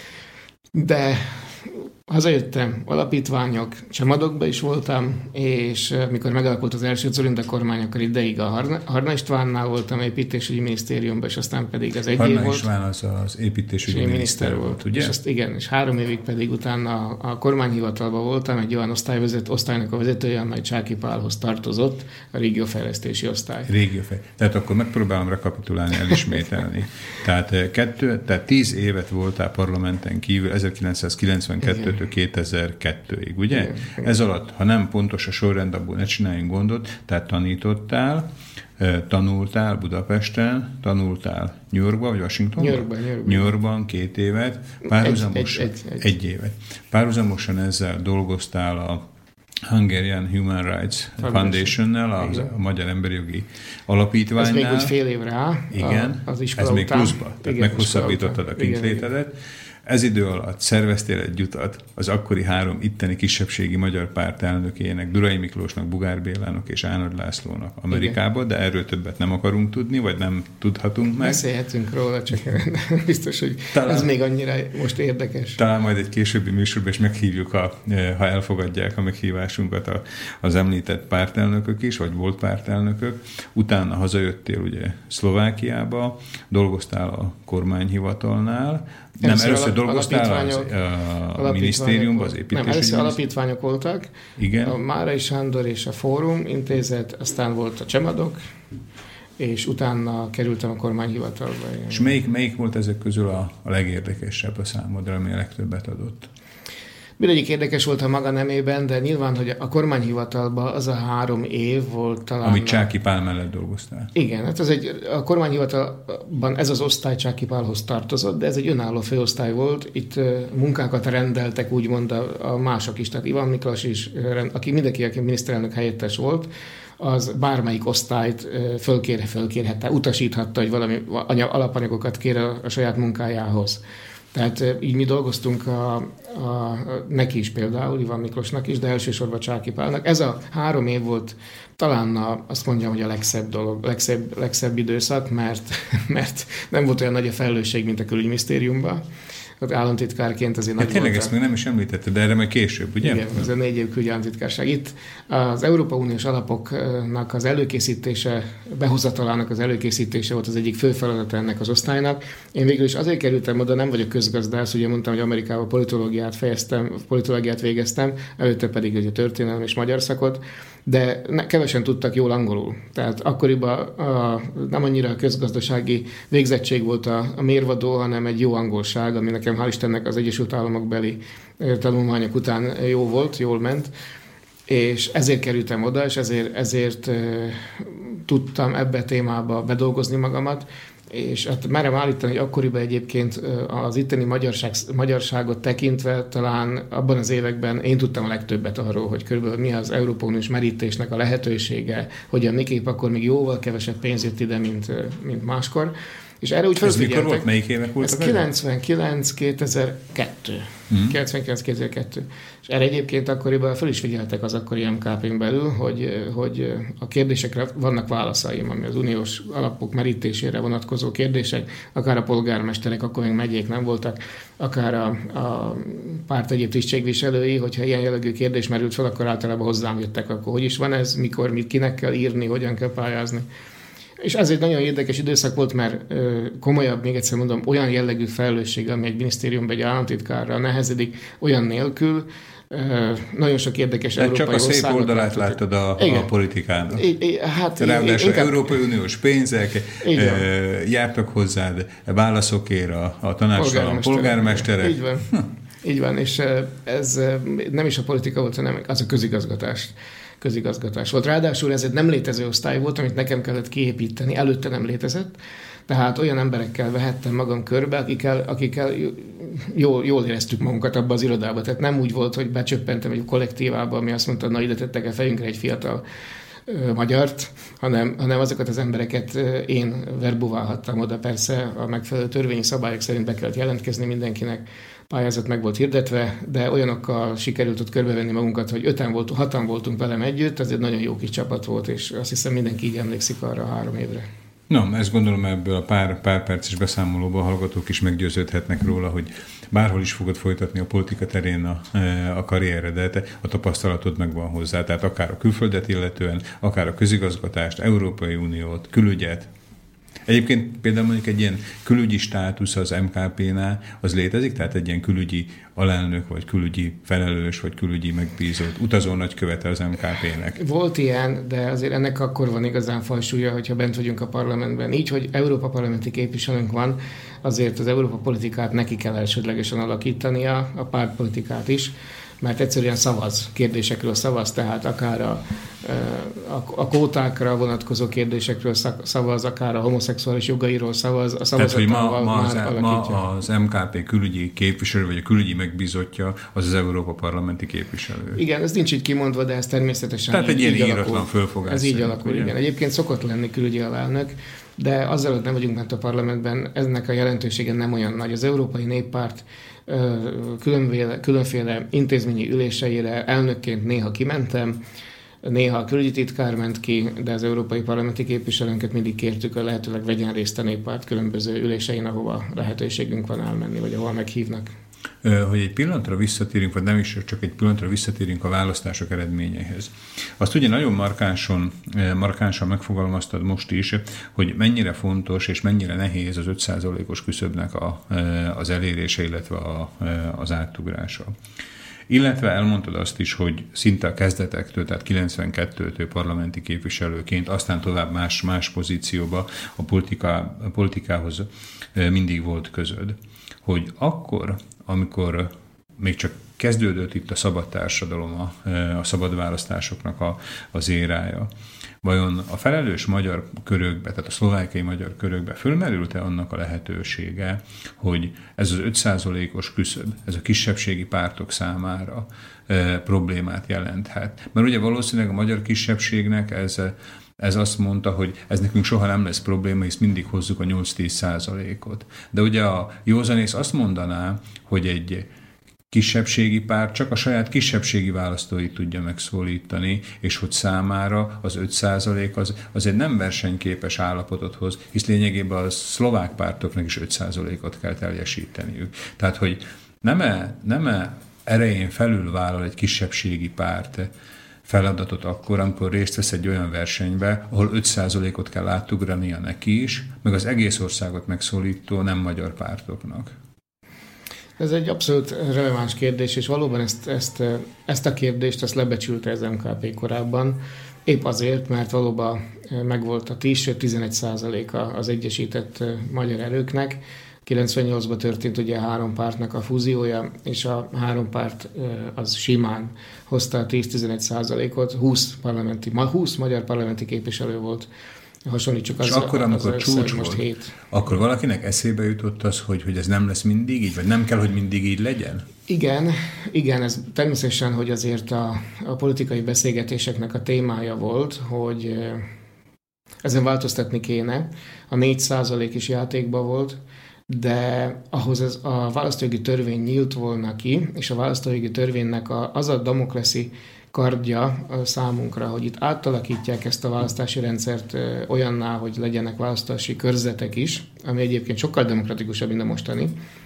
de hazajöttem, alapítványok, csemadokba is voltam, és mikor megalakult az első Dzurinda kormány, akkor ideig a Harna, Harna Istvánnál voltam építésügyi minisztériumban, és aztán pedig az egy Harna év volt. István az az építésügyi miniszter volt, ugye? És azt, igen, és három évig pedig utána a kormányhivatalban voltam, egy olyan osztályvezet, osztálynak a vezetője, amely Csáky Pálhoz tartozott, a régiófejlesztési osztály. Régiófejlesztési. Tehát akkor megpróbálom rekapitulálni, elismételni. tehát, kettő, tehát tíz évet voltál parlamenten kívül, ezerkilencszázkilencvenkettőtől kétezer-kettőig, ugye? Igen, igen. Ez alatt, ha nem pontos a sorrend, abból ne csináljunk gondot, tehát tanítottál, tanultál Budapesten, tanultál New Yorkban, vagy Washingtonban? New Yorkban, New Yorkban. New Yorkban két évet, párhuzamosan, egy, egy, egy, egy. egy évet. Párhuzamosan ezzel dolgoztál a Hungarian Human Rights Foundation-nel, a, a Magyar Emberi Jogi Alapítványnál. Ez még úgy fél év rá. Igen, az iskola ez még után. pluszba, tehát igen, meghosszabbítottad a kintlétedet. Ez idő alatt szerveztél egy utat az akkori három itteni kisebbségi magyar párt elnökének, Durai Miklósnak, Bugár Bélának és Ánagy Lászlónak Amerikába, de erről többet nem akarunk tudni, vagy nem tudhatunk meg. Beszélhetünk róla, csak biztos, hogy talán, ez még annyira most érdekes. Talán majd egy későbbi műsorban is meghívjuk, a, ha elfogadják a meghívásunkat a, az említett pártelnökök is, vagy volt pártelnökök. Utána hazajöttél ugye Szlovákiába, dolgoztál a kormányhivatalnál. Nem, először, először dolgoztál az, a minisztériumban, az építésügyi. Nem, először alapítványok voltak. Igen. A Márai Sándor és a Fórum Intézet, aztán volt a Csemadok, és utána kerültem a kormányhivatalba. És melyik, melyik volt ezek közül a, a legérdekesebb a számodra, ami a legtöbbet adott? Mindegyik érdekes volt a maga nemében, de nyilván, hogy a kormányhivatalban az a három év volt talán... Amit Csáky Pál mellett dolgoztál. Igen, hát ez egy, a kormányhivatalban ez az osztály Csáky Pálhoz tartozott, de ez egy önálló főosztály volt. Itt munkákat rendeltek úgymond a, a mások is, tehát Iván Miklós is, aki mindenki, aki miniszterelnök helyettes volt, az bármelyik osztályt fölkérhe, fölkérhette, utasíthatta, hogy valami alapanyagokat kér a, a saját munkájához. Tehát így mi dolgoztunk a, a, neki is például, Iván Miklósnak is, de elsősorban Csáky Pálnak. Ez a három év volt talán a, azt mondjam, hogy a legszebb dolog, legszebb, legszebb időszak, mert, mert nem volt olyan nagy a felelősség, mint a külügyminisztériumban. ott államtitkárként azért nagy ja, tényleg ezt még nem is említetted, de erre majd később, ugye? Igen, ez a négy év külügyi államtitkárság. Itt az Európai Uniós alapoknak az előkészítése, behozatalának az előkészítése volt az egyik fő feladat ennek az osztálynak. Én végül is azért kerültem oda, nem vagyok közgazdász, ugye mondtam, hogy Amerikában politológiát fejeztem, politológiát végeztem, előtte pedig ugye történelem és magyar szakot, de ne, kevesen tudtak jól angolul. Tehát akkoriban a, nem annyira a közgazdasági végzettség volt a, a mérvadó, hanem egy jó angolság, ami nekem hál' Istennek az Egyesült Államok beli tanulmányok után jó volt, jól ment, és ezért kerültem oda, és ezért, ezért uh, tudtam ebbe a témába bedolgozni magamat, és hát merem állítani, hogy akkoriban egyébként az itteni magyarság, magyarságot tekintve talán abban az években én tudtam a legtöbbet arról, hogy körülbelül mi az Európai Uniós merítésnek a lehetősége, hogy a miképp akkor még jóval kevesebb pénz jött ide, mint, mint máskor. És erre úgy felfigyeltek. Ez mikor volt? Melyik évek voltak? Ez kilencvenkilenc kétezer-kettő. Mm. kilencvenkilenc kétezer-kettő. És erre egyébként akkoriban fel is figyeltek az akkori em ká pén belül, hogy, hogy a kérdésekre vannak válaszaim, ami az uniós alapok merítésére vonatkozó kérdések, akár a polgármesterek, akkor még megyék nem voltak, akár a, a párt egyéb tisztségviselői, hogyha ilyen jellegű kérdés merült fel, akkor általában hozzám jöttek, akkor hogy is van ez, mikor, mit kinek kell írni, hogyan kell pályázni. És ez egy nagyon érdekes időszak volt, mert ö, komolyabb, még egyszer mondom, olyan jellegű felelősség, ami egy minisztériumban egy államtitkárra nehezedik, olyan nélkül, ö, nagyon sok érdekes de európai országot. Csak a szép oldalát láttad a, a politikának. I, I, hát ráadásul inkább... Európai Uniós pénzek ö, jártak hozzád válaszokért a, a tanácstalan polgármesterek. Így van. Hm. Így van, és ez nem is a politika volt, hanem az a közigazgatás. közigazgatás volt. Ráadásul ez egy nem létező osztály volt, amit nekem kellett kiépíteni, előtte nem létezett, tehát olyan emberekkel vehettem magam körbe, akikkel, akikkel jól, jól éreztük magunkat abban az irodában. Tehát nem úgy volt, hogy becsöppentem egy kollektívába, ami azt mondta, na ide tettek a fejünkre egy fiatal ö, magyart, hanem, hanem azokat az embereket én verbuválhattam oda. Persze a megfelelő törvényi szabályok szerint be kellett jelentkezni mindenkinek, pályázat meg volt hirdetve, de olyanokkal sikerült ott körbevenni magunkat, hogy öten voltunk, hatan voltunk velem együtt, ez egy nagyon jó kis csapat volt, és azt hiszem mindenki így emlékszik arra a három évre. Na, ezt gondolom ebből a pár, pár perces beszámolóban hallgatók is meggyőződhetnek róla, hogy bárhol is fogod folytatni a politika terén a, a karrieredet, a tapasztalatod megvan hozzá, tehát akár a külföldet illetően, akár a közigazgatást, Európai Uniót, külügyet. Egyébként például mondjuk egy ilyen külügyi státusz az em ká pénál, az létezik? Tehát egy ilyen külügyi alelnök, vagy külügyi felelős, vagy külügyi megbízott utazó nagykövete az em ká pének? Volt ilyen, de azért ennek akkor van igazán fajsúlya, hogyha bent vagyunk a parlamentben. Így, hogy Európa parlamenti képviselőnk van, azért az Európa politikát neki kell elsődlegesen alakítania, a pártpolitikát is, mert egyszerűen szavaz, kérdésekről szavaz, tehát akár a, a, a kvótákra vonatkozó kérdésekről szavaz, akár a homoszexuális jogairól szavaz, a szavazatával ma, ma, már az, ma az em ká pé külügyi képviselő, vagy a külügyi megbízottja, az az Európa parlamenti képviselő. Igen, ez nincs így kimondva, de ez természetesen tehát így, egy ilyen így íratlan fölfogás. Ez így alakul, igen. Egyébként szokott lenni külügyi alelnök, de azzal, hogy nem vagyunk bent a parlamentben, ennek a jelentősége nem olyan nagy. Az Európai Néppárt különféle, különféle intézményi üléseire elnökként néha kimentem, néha a külügyi titkár ment ki, de az európai parlamenti képviselőnket mindig kértük, hogy lehetőleg vegyen részt a Néppárt különböző ülésein, ahova lehetőségünk van elmenni, vagy ahol meghívnak. Hogy egy pillanatra visszatérünk, vagy nem is csak egy pillanatra visszatérünk a választások eredményeihez. Azt ugye nagyon markánsan, markánsan megfogalmaztad most is, hogy mennyire fontos és mennyire nehéz az öt százalékos küszöbnek a, az elérése, illetve a, az átugrása. Illetve elmondtad azt is, hogy szinte a kezdetektől, tehát kilencvenkettőtől parlamenti képviselőként, aztán tovább más, más pozícióba a, politika, a politikához mindig volt közöd. Hogy akkor, amikor még csak kezdődött itt a szabad társadalom, a, a szabad választásoknak a, az érája, vajon a felelős magyar körökbe, tehát a szlovákiai magyar körökbe fölmerült-e annak a lehetősége, hogy ez az öt százalékos küszöb, ez a kisebbségi pártok számára e, problémát jelenthet? Mert ugye valószínűleg a magyar kisebbségnek ez Ez azt mondta, hogy ez nekünk soha nem lesz probléma, hisz mindig hozzuk a nyolc-tíz százalékot. De ugye a józanész azt mondaná, hogy egy kisebbségi párt csak a saját kisebbségi választóit tudja megszólítani, és hogy számára az öt százalék az, az egy nem versenyképes állapotot hoz, hisz lényegében a szlovák pártoknak is öt százalékot kell teljesíteniük. Tehát, hogy nem-e, nem-e erején felül vállal egy kisebbségi párt feladatot akkor, amikor részt vesz egy olyan versenybe, ahol öt százalékot kell átugrania neki is, meg az egész országot megszólító nem magyar pártoknak. Ez egy abszolút releváns kérdés, és valóban ezt, ezt, ezt a kérdést ezt lebecsülte az em ká pé korábban, épp azért, mert valóban megvolt a tíz, sőt tizenegy százaléka az egyesített magyar erőknek. kilencvennyolcban történt ugye a három pártnak a fúziója, és a három párt az simán hozta a tíz-tizenegy százalékot, húsz, parlamenti, húsz magyar parlamenti képviselő volt Hasonlítsuk az, és akkor, amikor az csúcs most volt, hét. akkor valakinek eszébe jutott az, hogy, hogy ez nem lesz mindig így, vagy nem kell, hogy mindig így legyen? Igen, igen, ez természetesen, hogy azért a, a politikai beszélgetéseknek a témája volt, hogy ezen változtatni kéne. A négy százalék is játékban volt, de ahhoz ez a választójogi törvény nyílt volna ki, és a választójogi törvénynek a, az a damokleszi kardja számunkra, hogy itt átalakítják ezt a választási rendszert olyanná, hogy legyenek választási körzetek is, ami egyébként sokkal demokratikusabb, mint a mostani,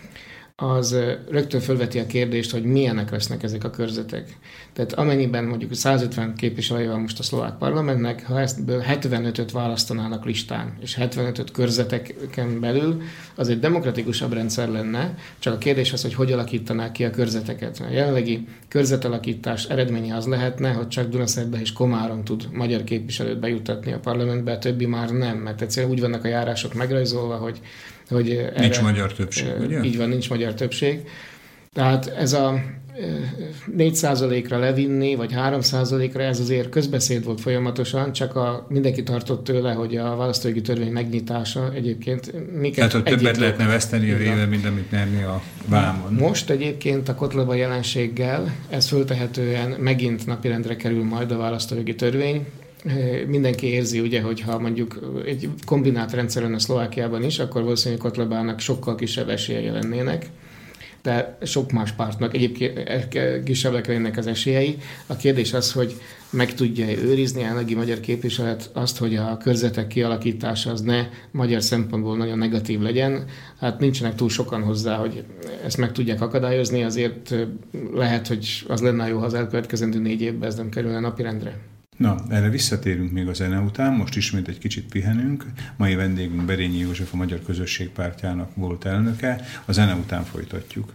az rögtön fölveti a kérdést, hogy milyenek lesznek ezek a körzetek. Tehát amennyiben mondjuk százötven képviselője van most a szlovák parlamentnek, ha ebből hetvenötöt választanának listán, és hetvenötöt körzeteken belül, az egy demokratikusabb rendszer lenne, csak a kérdés az, hogy hogy alakítanák ki a körzeteket. A jelenlegi körzetalakítás eredménye az lehetne, hogy csak Dunaszerdahely és Komárom tud magyar képviselőt bejutatni a parlamentbe, a többi már nem, mert egyszerűen úgy vannak a járások megrajzolva, hogy hogy erre, nincs magyar többség, ugye? Így van, nincs magyar többség. Tehát ez a négy százalékra levinni, vagy három százalékra, ez azért közbeszéd volt folyamatosan, csak a, mindenki tartott tőle, hogy a választójogi törvény megnyitása egyébként miket tehát, hogy többet lehetne veszteni a réve, mint amit nyerni a vámon. Most egyébként a kotlova jelenséggel ez föltehetően megint napirendre kerül majd a választójogi törvény. Mindenki érzi, ugye, hogyha mondjuk egy kombinált rendszeren a Szlovákiában is, akkor valószínűleg Kotlebának sokkal kisebb esélyei lennének, de sok más pártnak egyébként kisebbek lennének az esélyei. A kérdés az, hogy meg tudja őrizni a jelenlegi magyar képviselet azt, hogy a körzetek kialakítása az ne magyar szempontból nagyon negatív legyen. Hát nincsenek túl sokan hozzá, hogy ezt meg tudják akadályozni, azért lehet, hogy az lenne jó, ha az elkövetkezendő négy évben ez nem kerülne napirendre. Na, erre visszatérünk még a zene után, most ismét egy kicsit pihenünk. Mai vendégünk Berényi József, a Magyar Közösség Pártjának volt elnöke. A zene után folytatjuk.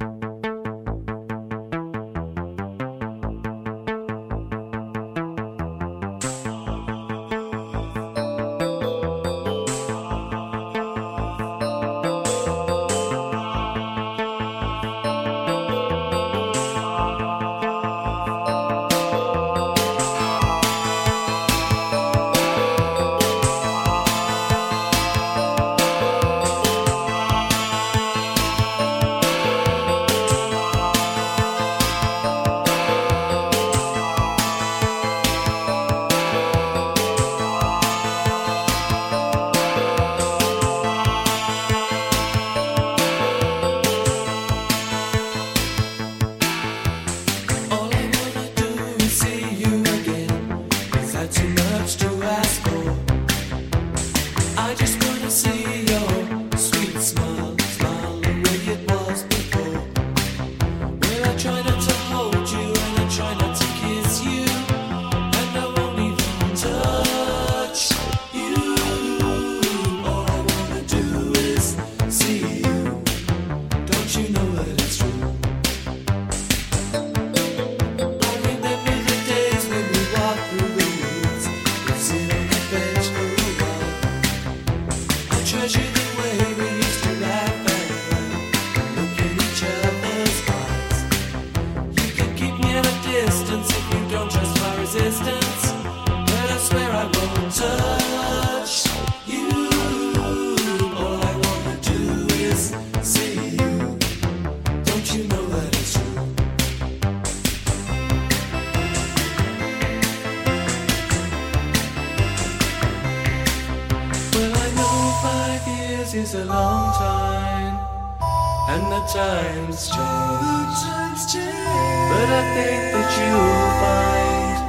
is a long time, and the times change. The times change. But I think that you'll find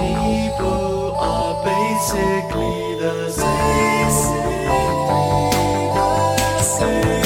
people are basically the same. The same.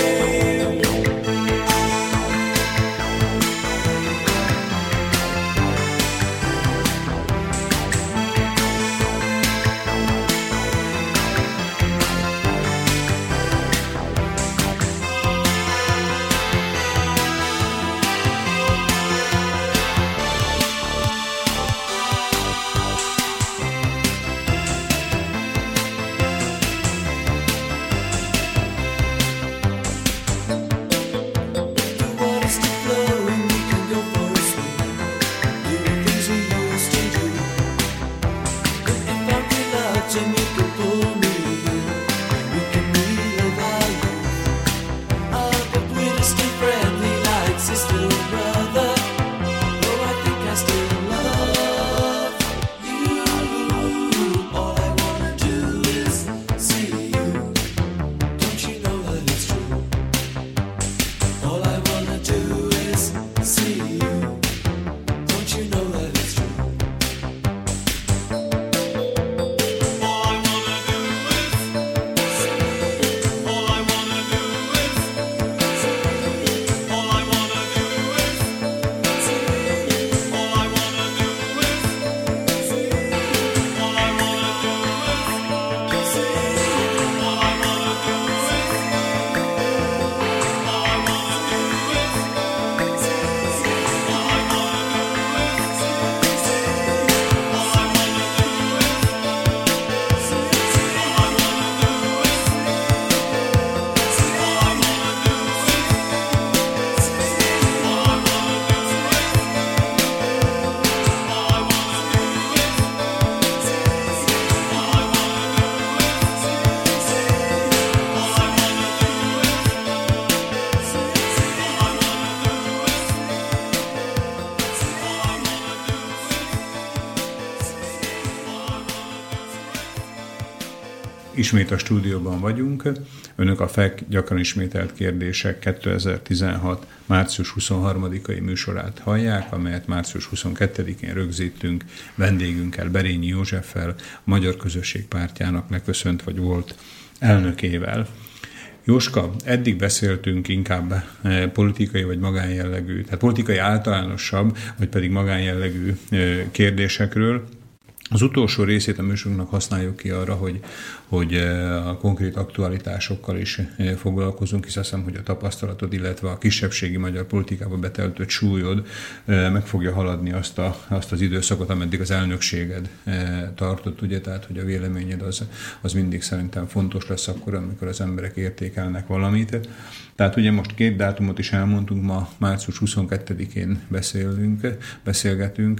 Ismét a stúdióban vagyunk. Önök a ef e ká gyakran ismételt kérdések kétezer-tizenhat. március huszonharmadikai műsorát hallják, amelyet március huszonkettedikén rögzítünk vendégünkkel, Berényi Józseffel, a Magyar Közösség Pártjának leköszönt vagy volt elnökével. Jóska, eddig beszéltünk inkább politikai vagy magánjellegű, tehát politikai általánosabb, vagy pedig magánjellegű kérdésekről. Az utolsó részét a műsorunknak használjuk ki arra, hogy, hogy a konkrét aktualitásokkal is foglalkozunk, hisz azt hiszem, hogy a tapasztalatod, illetve a kisebbségi magyar politikába betöltött súlyod meg fogja haladni azt, a, azt az időszakot, ameddig az elnökséged tartott, ugye, tehát hogy a véleményed az, az mindig szerintem fontos lesz akkor, amikor az emberek értékelnek valamit. Tehát ugye most két dátumot is elmondtunk, ma március huszonkettedikén beszélünk, beszélgetünk.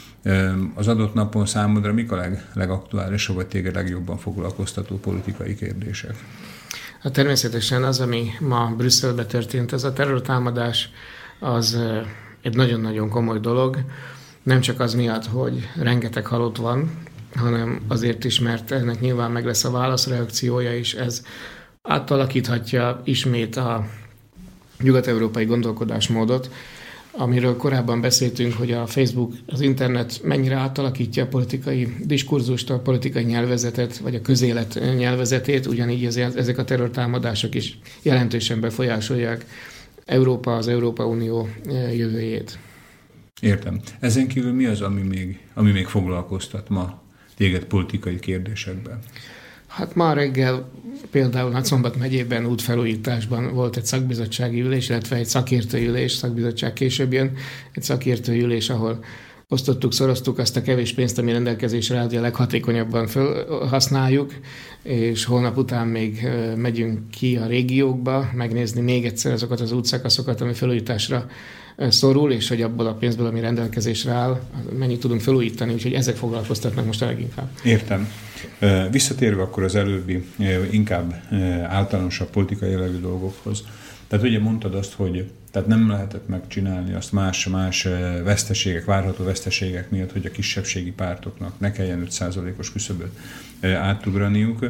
Az adott napon számodra mik a leg, legaktuálisabb, vagy téged legjobban foglalkoztató politikai kérdések? Hát természetesen az, ami ma Brüsszelben történt, ez a terrortámadás, az egy nagyon-nagyon komoly dolog. Nem csak az miatt, hogy rengeteg halott van, hanem azért is, mert ennek nyilván meg lesz a válaszreakciója is. Ez átalakíthatja ismét a nyugat-európai gondolkodásmódot, amiről korábban beszéltünk, hogy a Facebook, az internet mennyire átalakítja a politikai diskurzust, a politikai nyelvezetet, vagy a közélet nyelvezetét, ugyanígy ezek a terrortámadások is jelentősen befolyásolják Európa, az Európa Unió jövőjét. Értem. Ezen kívül mi az, ami még, ami még foglalkoztat ma téged politikai kérdésekben? Hát ma reggel például Nagyszombat megyében útfelújításban volt egy szakbizottsági ülés, illetve egy szakértői ülés, szakbizottság később jön, egy szakértői ülés, ahol osztottuk, szoroztuk azt a kevés pénzt, ami rendelkezésre áll, hogy a leghatékonyabban felhasználjuk, és holnap után még megyünk ki a régiókba, megnézni még egyszer azokat az útszakaszokat, ami felújításra szorul, és hogy abból a pénzből, ami rendelkezésre áll, mennyit tudunk felújítani, úgyhogy ezek foglalkoztatnak most a leginkább. Értem. Visszatérve akkor az előbbi, inkább általánosabb politikai jellegű dolgokhoz. Tehát ugye mondtad azt, hogy tehát nem lehetett megcsinálni azt más-más veszteségek, várható veszteségek miatt, hogy a kisebbségi pártoknak ne kelljen öt százalékos küszöböt átugraniuk.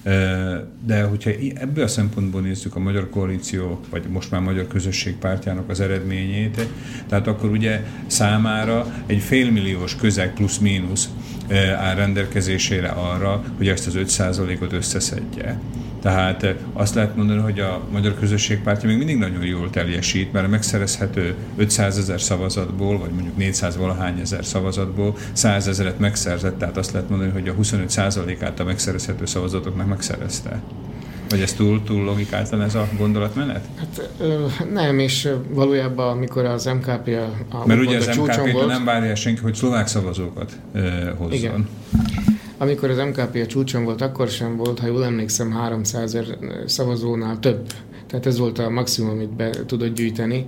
De hogyha ebből a szempontból nézzük a Magyar Koalíció, vagy most már Magyar Közösség Pártjának az eredményét, tehát akkor ugye számára egy félmilliós közeg plusz-mínusz áll rendelkezésére arra, hogy ezt az öt százalékot összeszedje. Tehát azt lehet mondani, hogy a Magyar Közösség Pártja még mindig nagyon jól teljesít, mert a megszerezhető ötszázezer szavazatból, vagy mondjuk négyszáz valahány ezer szavazatból százezret megszerzett, tehát azt lehet mondani, hogy a huszonöt százalékát a megszerezhető szavazatoknak megszerezte. Vagy ez túl, túl logikáltan ez a gondolatmenet? Hát ö, nem, és valójában amikor az em ká pé a, a Mert ugye az em ká pé-től nem várja senki, hogy szlovák szavazókat ö, hozzon. Igen. Amikor az em ká pé a csúcson volt, akkor sem volt, ha jól emlékszem, háromszázezer szavazónál több. Tehát ez volt a maximum, amit be tudott gyűjteni.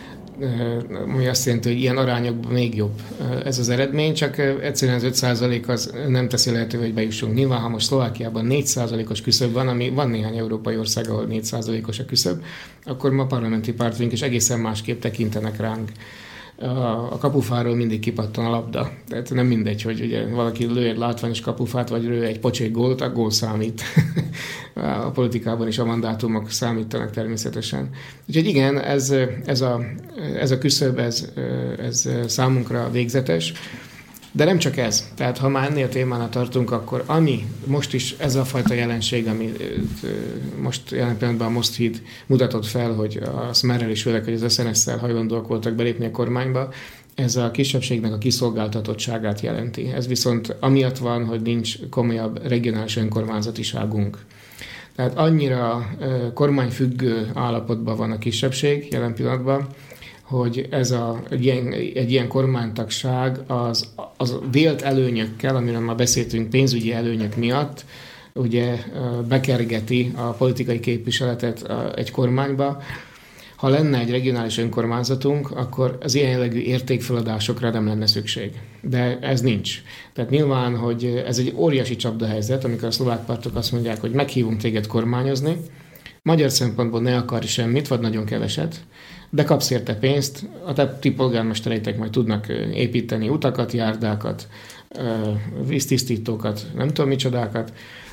Ami azt jelenti, hogy ilyen arányokban még jobb ez az eredmény, csak egyszerűen az öt százalék az nem teszi lehetővé, hogy bejussunk. Nyilván, ha most Szlovákiában négy százalékos küszöb van, ami van néhány európai ország, ahol négy százalékos a küszöb, akkor ma parlamenti pártunk is egészen másképp tekintenek ránk. A kapufáról mindig kipattan a labda. Tehát nem mindegy, hogy ugye valaki lő egy látványos kapufát, vagy lő egy pocsék gólt, a gól számít. A politikában is a mandátumok számítanak természetesen. Úgyhogy igen, ez, ez, a, ez a küszöb, ez, ez számunkra végzetes. De nem csak ez. Tehát ha már ennél témánál tartunk, akkor ami most is ez a fajta jelenség, ami most jelen pillanatban a Most-híd mutatott fel, hogy a Smerrel is főleg, hogy az es en es-szel hajlandóak voltak belépni a kormányba, ez a kisebbségnek a kiszolgáltatottságát jelenti. Ez viszont amiatt van, hogy nincs komolyabb regionális önkormányzatiságunk. Tehát annyira kormányfüggő állapotban van a kisebbség jelen pillanatban, hogy ez a, egy, ilyen, egy ilyen kormánytagság az, az vélt előnyökkel, amiről már beszéltünk, pénzügyi előnyök miatt, ugye bekergeti a politikai képviseletet egy kormányba. Ha lenne egy regionális önkormányzatunk, akkor az ilyen jellegű értékfeladásokra nem lenne szükség. De ez nincs. Tehát nyilván, hogy ez egy óriási csapdahelyzet, amikor a szlovák pártok azt mondják, hogy meghívunk téged kormányozni, magyar szempontból ne akarj semmit, vagy nagyon keveset, de kapsz érte pénzt, a te ti polgármestereitek majd tudnak építeni utakat, járdákat, víztisztítókat, nem tudom micsodákat,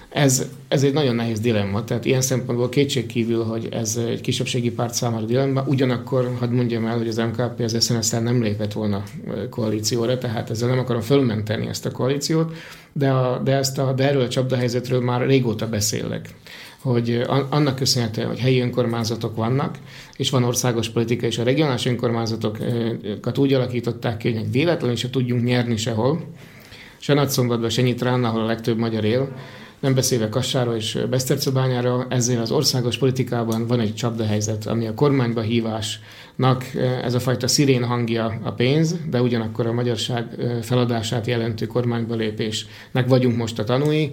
Ez, ez egy nagyon nehéz dilemma, tehát ilyen szempontból kétségkívül, hogy ez egy kisebbségi párt számára dilemma, ugyanakkor hadd mondjam el, hogy az em ká pé az es en es-tel nem lépett volna koalícióra, tehát ezzel nem akarom fölmenteni ezt a koalíciót, de, a, de, ezt a, de erről a csapdahelyzetről már régóta beszélek, hogy annak köszönhetően, hogy helyi önkormányzatok vannak, és van országos politika, és a regionális önkormányzatokat úgy alakították ki, hogy véletlenül se tudjunk nyerni sehol, se Nagyszombatban, se Nyitrán, ahol a legtöbb magyar él, nem beszélve Kassáról és Besztercebányáról, ezzel az országos politikában van egy csapdahelyzet, ami a kormányba hívásnak ez a fajta szirén hangja a pénz, de ugyanakkor a magyarság feladását jelentő kormányba lépésnek vagyunk most a tanúi.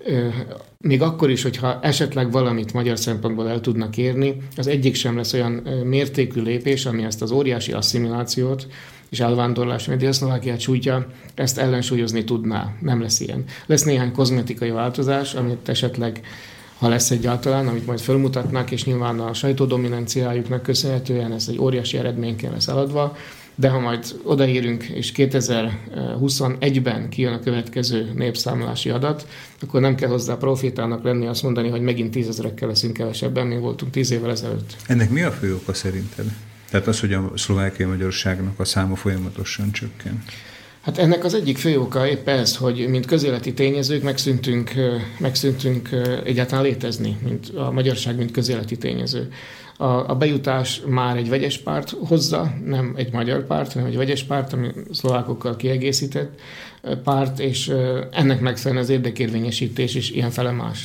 Még akkor is, hogyha esetleg valamit magyar szempontból el tudnak érni, az egyik sem lesz olyan mértékű lépés, ami ezt az óriási asszimilációt és elvándorlás, ami Dél-Szlovákiát sújtja, ezt ellensúlyozni tudná. Nem lesz ilyen. Lesz néhány kozmetikai változás, amit esetleg, ha lesz egyáltalán, amit majd felmutatnak, és nyilván a sajtódominanciájuknak köszönhetően ez egy óriási eredményként lesz eladva, de ha majd odaérünk, és kétezer-huszonegyben kijön a következő népszámlási adat, akkor nem kell hozzá profétának lenni azt mondani, hogy megint tízezrekkel leszünk kevesebben, mint voltunk tíz évvel ezelőtt. Ennek mi a fő oka szerinted? Tehát az, hogy a szlovákiai magyarságnak a száma folyamatosan csökken. Hát ennek az egyik fő oka épp ez, hogy mint közéleti tényezők megszűntünk, megszűntünk egyáltalán létezni, mint a magyarság, mint közéleti tényező. A, a bejutás már egy vegyes párt hozza, nem egy magyar párt, hanem egy vegyes párt, ami szlovákokkal kiegészített párt, és ennek megfelelően az érdekérvényesítés is ilyen fele más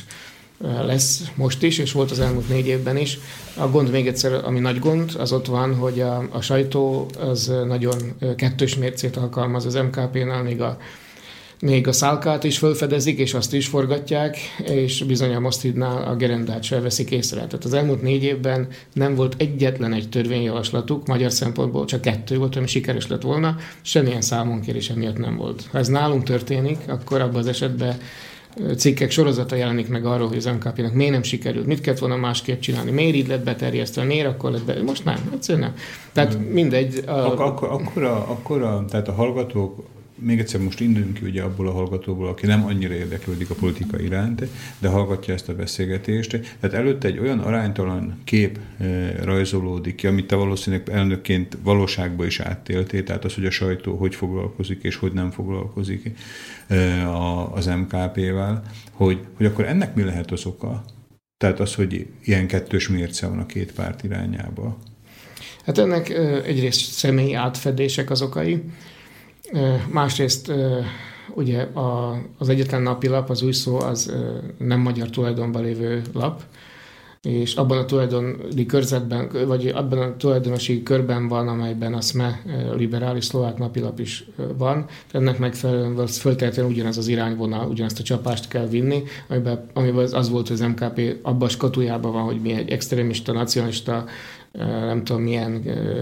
lesz most is, és volt az elmúlt négy évben is. A gond még egyszer, ami nagy gond, az ott van, hogy a, a sajtó az nagyon kettős mércét alkalmaz az em ká pé-nál, még a, még a szálkát is felfedezik, és azt is forgatják, és bizony a Mosztidnál a gerendát sem veszik észre. Tehát az elmúlt négy évben nem volt egyetlen egy törvényjavaslatuk, magyar szempontból csak kettő volt, ami sikeres lett volna, semmilyen számonkérése miatt nem volt. Ha ez nálunk történik, akkor abban az esetben cikkek sorozata jelenik meg arról, hogy az em ká pé-nek miért nem sikerült, mit kellett volna másképp csinálni, miért így lett beterjesztve, miért akkor lett be... Most nem, egyszerűen nem. Tehát mindegy. A... Ak- akkor, akkor, a, akkor a, tehát a hallgatók, még egyszer most induljunk ki ugye abból a hallgatóból, aki nem annyira érdeklődik a politika iránt, de hallgatja ezt a beszélgetést. Tehát előtte egy olyan aránytalan kép e, rajzolódik ki, amit te valószínűleg elnökként valóságban is áttéltél, tehát az, hogy a sajtó hogy foglalkozik és hogy nem foglalkozik e, a, az em ká pé-vel, hogy, hogy akkor ennek mi lehet az oka? Tehát az, hogy ilyen kettős mérce van a két párt irányába. Hát ennek e, egyrészt személyi átfedések az okai, másrészt ugye az egyetlen napilap, az Új Szó, az nem magyar tulajdonban lévő lap, és abban a tulajdoni körzetben, vagy abban a tulajdonosi körben van, amelyben a SZME liberális szlovák napilap is van. Ennek megfelelően föltétlenül ugyanaz az irányvonal, ugyanazt a csapást kell vinni, amiben, amiben az volt, hogy az em ká pé abban a skatujában van, hogy mi egy extrémista, nacionalista, nem tudom milyen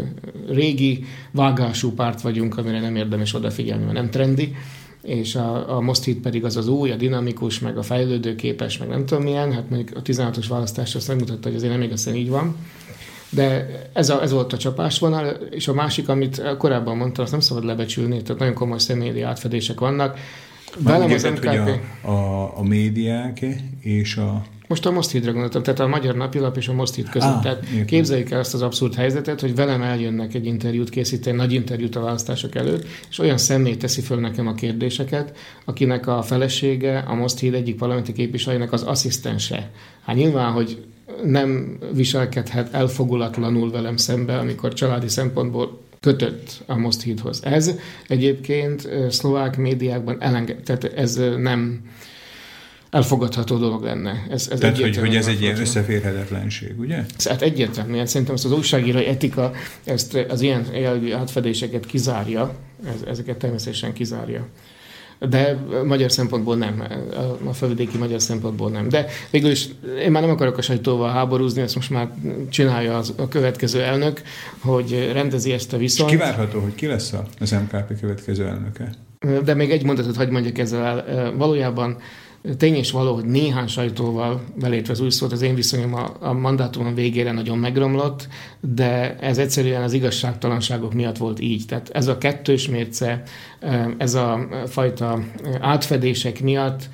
régi vágású párt vagyunk, amire nem érdemes odafigyelni, mert nem trendi, és a, a Moszthíd pedig az az új, a dinamikus, meg a fejlődőképes, meg nem tudom milyen, hát mondjuk a tizenhatos választás azt megmutatta, hogy azért nem igazán így van. De ez, a, ez volt a csapásvonal, és a másik, amit korábban mondtam, azt nem szabad lebecsülni, tehát nagyon komoly személyi átfedések vannak. Velem az em ká pé... a, a, a médiák és a... Most a Moszthídra gondoltam, tehát a Magyar Napilap és a Moszthíd között. Ah, tehát képzeljük el azt az abszurd helyzetet, hogy velem eljönnek egy interjút készíteni, nagy interjút a választások előtt, és olyan személy teszi föl nekem a kérdéseket, akinek a felesége, a Moszthíd egyik parlamenti képviselőjének az asszisztense. Hát nyilván, hogy nem viselkedhet elfogulatlanul velem szembe, amikor családi szempontból kötött a Moszthídhoz. Ez egyébként szlovák médiákban elenged, tehát ez nem elfogadható dolog lenne. Ez, ez Tehát, hogy, hogy ez egy ilyen összeférhetetlenség, ugye? Hát egyértelműen szerintem ezt az újságírói etika ezt, az ilyen jellegű átfedéseket kizárja, ez, ezeket természetesen kizárja. De magyar szempontból nem, a felvidéki magyar szempontból nem. De végül is én már nem akarok a sajtóval háborúzni, ezt most már csinálja az, a következő elnök, hogy rendezi ezt a viszonyt. És kivárható, hogy ki lesz az em ká pé következő elnöke? De még egy mondatot hadd mondjak ezzel el. Valójában tény és való, hogy néhány sajtóval, belétve az Új Szót, az én viszonyom a, a mandátumon végére nagyon megromlott, de ez egyszerűen az igazságtalanságok miatt volt így. Tehát ez a kettős mérce, ez a fajta átfedések miatt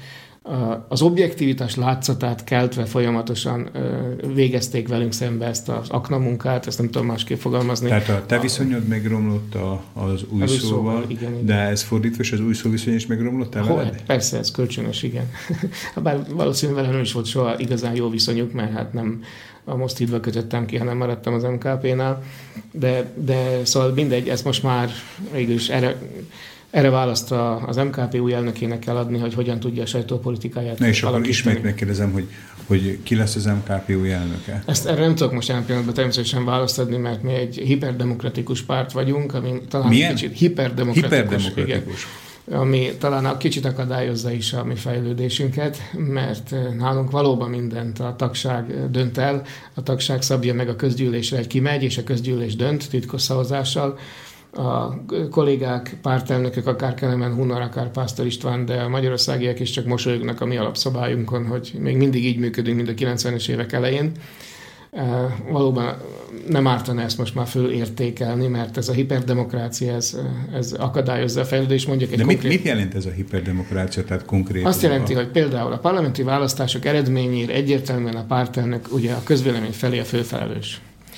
az objektivitás látszatát keltve folyamatosan végezték velünk szembe ezt az akna munkát, ezt nem tudom másképp fogalmazni. Tehát a te viszonyod megromlott a, az új szóval, szóval igen, de ez fordítva, és az új szó viszony is megromlott el veled? Persze, ez kölcsönös, igen. Bár valószínűleg velem is volt soha igazán jó viszonyuk, mert hát nem a Moszthídba kötöttem ki, hanem maradtam az em ká pé-nál, de, de szóval mindegy, ezt most már végülis erre Erre választ az em ká pé új elnökének kell adni, hogy hogyan tudja a sajtópolitikáját Na és akkor ismét megkérdezem, hogy, hogy ki lesz az em ká pé új elnöke? Ezt erre nem tudok most jelen pillanatban természetesen választ adni, mert mi egy hiperdemokratikus párt vagyunk, ami talán Milyen? kicsit hiperdemokratikus, hiperdemokratikus. Igen, ami talán a kicsit akadályozza is a mi fejlődésünket, mert nálunk valóban mindent a tagság dönt el, a tagság szabja meg a közgyűlésre, egy kimegy, és a közgyűlés dönt titkos szavazással. A kollégák, pártelnökök, akár Kelemen Hunor, akár Pásztor István, de a magyarországiak is csak mosolyognak a mi alapszabályunkon, hogy még mindig így működünk, mint a kilencvenes évek elején. E, valóban nem ártana ezt most már fölértékelni, mert ez a hiperdemokrácia, ez, ez akadályozza a fejlődést. Mondjuk egy de konkrét... mit, mit jelent ez a hiperdemokrácia, tehát konkrétan? Azt jelenti, a... hogy például a parlamenti választások eredményére egyértelműen a pártelnök ugye a közvélemény felé a főfelelős.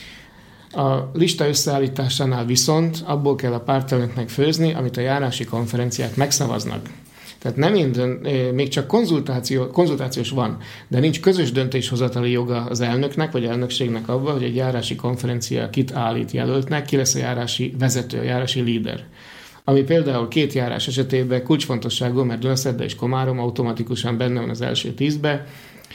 A lista összeállításánál viszont abból kell a pártelnöknek főzni, amit a járási konferenciák megszavaznak. Tehát nem minden, még csak konzultáció, konzultációs van, de nincs közös döntéshozatali joga az elnöknek vagy elnökségnek abban, hogy egy járási konferencia kit állít jelöltnek, ki lesz a járási vezető, a járási líder. Ami például két járás esetében kulcsfontosságú, mert Dunaszerdá és Komárom automatikusan benne van az első tízbe,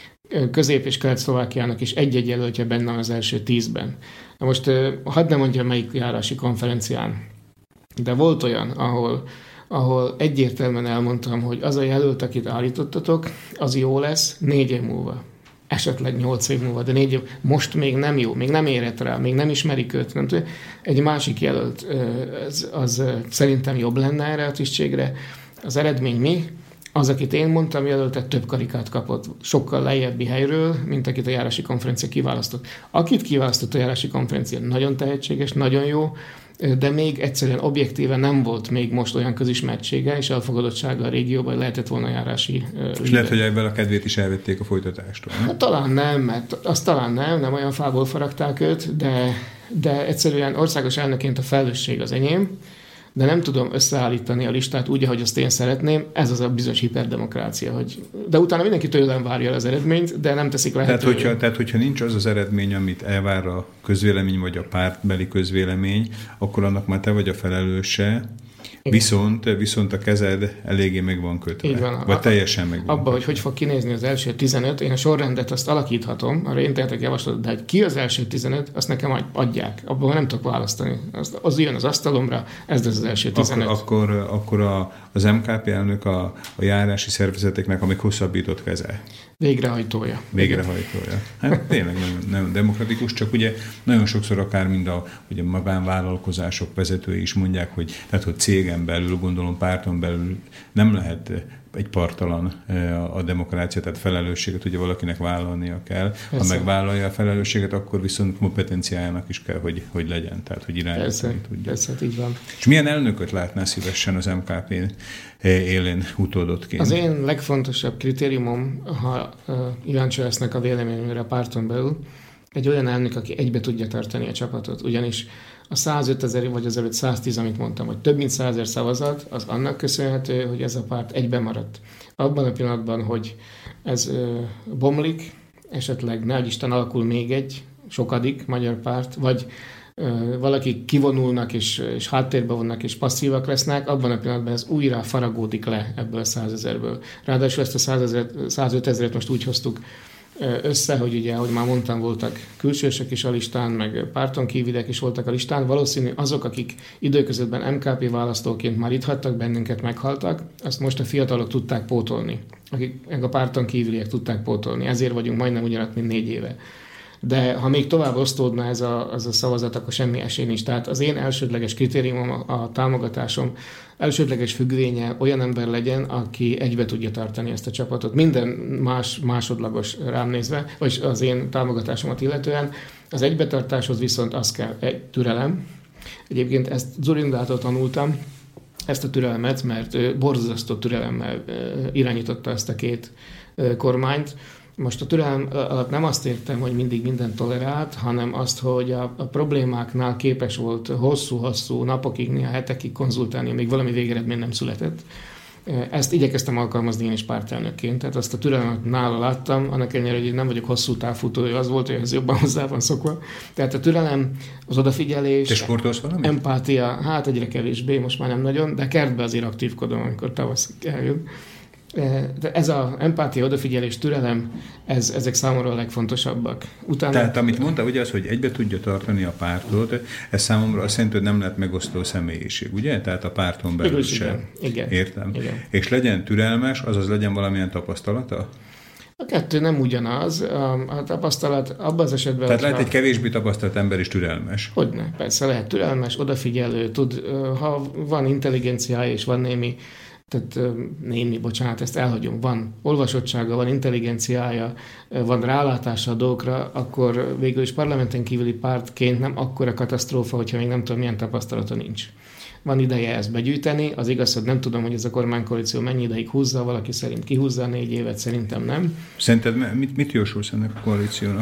Közép- és Kelet-Szlovákiának is egy-egy jelöltje benne van az első tízben. Na most hadd ne mondjam melyik járási konferencián, de volt olyan, ahol, ahol egyértelműen elmondtam, hogy az a jelölt, akit állítottatok, az jó lesz négy év múlva. Esetleg nyolc év múlva, de négy év. Most még nem jó, még nem érett rá, még nem ismerik őt. Nem tudja. Egy másik jelölt, az, az szerintem jobb lenne erre a tisztségre. Az eredmény mi? Az, akit én mondtam, jelöltet több karikát kapott, sokkal lejjebbi helyről, mint akit a járási konferencia kiválasztott. Akit kiválasztott a járási konferencia, nagyon tehetséges, nagyon jó, de még egyszerűen objektíven nem volt még most olyan közismertsége és elfogadottsága a régióban, hogy lehetett volna járási... És uh, lehet, hogy ebben a kedvét is elvették a folytatástól. Hát, talán nem, mert azt talán nem, nem olyan fából faragták őt, de, de egyszerűen országos elnökként a felelősség az enyém, de nem tudom összeállítani a listát úgy, ahogy azt én szeretném. Ez az a bizonyos hiperdemokrácia. Hogy, de utána mindenki tőlem várja az eredményt, de nem teszik lehetővé. Tehát hogyha, tehát, hogyha nincs az az eredmény, amit elvár a közvélemény, vagy a pártbeli közvélemény, akkor annak már te vagy a felelőse, viszont, viszont a kezed eléggé meg van kötve. Így van. Vagy teljesen meg van Abba, kötve. hogy hogy fog kinézni az első tizenöt, én a sorrendet azt alakíthatom, arra én tehetek javaslatot, de hogy ki az első tizenöt, azt nekem adják. Abban nem tudok választani. Az, az jön az asztalomra, ez az első tizenöt. Akkor, akkor, akkor a, az em ká pé elnök a, a járási szervezeteknek a még hosszabbított keze. Végrehajtója. Végrehajtója. Hát tényleg nem, nem demokratikus, csak ugye nagyon sokszor akár mind a ugye magánvállalkozások vezetői is mondják, hogy, tehát, hogy cégen belül, gondolom párton belül nem lehet egy partalan a demokrácia, tehát felelősséget ugye valakinek vállalnia kell. Persze. Ha megvállalja a felelősséget, akkor viszont kompetenciájának is kell, hogy, hogy legyen, tehát hogy irányítani tudja. Persze, így van. És milyen elnököt látnál szívesen az em ká pé élén utódotként? Az én legfontosabb kritériumom, ha uh, kíváncsi lesznek a véleményemre a párton belül, egy olyan elnök, aki egybe tudja tartani a csapatot. Ugyanis a százötezer vagy az előtt száztíz, amit mondtam, hogy több mint százezer szavazat, az annak köszönhető, hogy ez a párt egyben maradt. Abban a pillanatban, hogy ez ö, bomlik, esetleg ne Isten alakul még egy sokadik magyar párt, vagy ö, valaki kivonulnak, és, és háttérbe vonnak, és passzívak lesznek, abban a pillanatban ez újra faragódik le ebből a százezerből. Ráadásul ezt a százötezret most úgy hoztuk össze, hogy ugye, ahogy már mondtam, voltak külsősök is a listán, meg párton kívüliek is voltak a listán. Valószínű azok, akik időközben em ká pé választóként már itt hagytak bennünket, meghaltak, azt most a fiatalok tudták pótolni. Akik meg a párton kívüliek tudták pótolni. Ezért vagyunk majdnem ugyanat, mint négy éve. De ha még tovább osztódna ez a, az a szavazat, akkor semmi esély nincs. Tehát az én elsődleges kritériumom, a, a támogatásom elsődleges függvénye olyan ember legyen, aki egybe tudja tartani ezt a csapatot. Minden más másodlagos rám nézve, vagy az én támogatásomat illetően. Az egybetartáshoz viszont az kell egy türelem. Egyébként ezt Dzurindától tanultam. ezt a türelmet, mert ő borzasztó türelemmel irányította ezt a két kormányt. Most a türelem alatt nem azt értem, hogy mindig mindent tolerált, hanem azt, hogy a, a problémáknál képes volt hosszú-hosszú napokig, néha hetekig konzultálni, még valami végeredmény nem született. Ezt igyekeztem alkalmazni én is pártelnökként, tehát azt a türelmet nála láttam, annak ellenére, hogy nem vagyok hosszú távfutója, az volt, hogy ez jobban hozzá van szokva. Tehát a türelem, az odafigyelés, Te sportolsz valamit? empátia, hát egyre kevésbé, most már nem nagyon, de kertbe azért aktívkodom, amikor tavasz eljön. De ez az empátia, odafigyelés, türelem, ez, ezek számomra a legfontosabbak. Utána... Tehát amit mondta, ugye az, hogy egybe tudja tartani a pártot, ez számomra azt jelenti, hogy nem lehet megosztó személyiség, ugye? Tehát a párton belül sem. Igen. Értem. Igen. És legyen türelmes, azaz legyen valamilyen tapasztalata? A kettő nem ugyanaz. A tapasztalat abban az esetben... Tehát lehet egy kevésbé tapasztalt ember is türelmes. Hogyne, persze lehet türelmes, odafigyelő, tud, ha van intelligenciája és van némi tehát némi, bocsánat, ezt elhagyom, van olvasottsága, van intelligenciája, van rálátása a dolgokra, akkor végül is parlamenten kívüli pártként nem akkora katasztrófa, hogyha még nem tudom, milyen tapasztalata nincs. Van ideje ezt begyűjteni, az igaz, hogy nem tudom, hogy ez a kormánykoalíció mennyi ideig húzza, valaki szerint kihúzza négy évet, szerintem nem. Szerinted mit, mit jósolsz ennek a koalíciónak?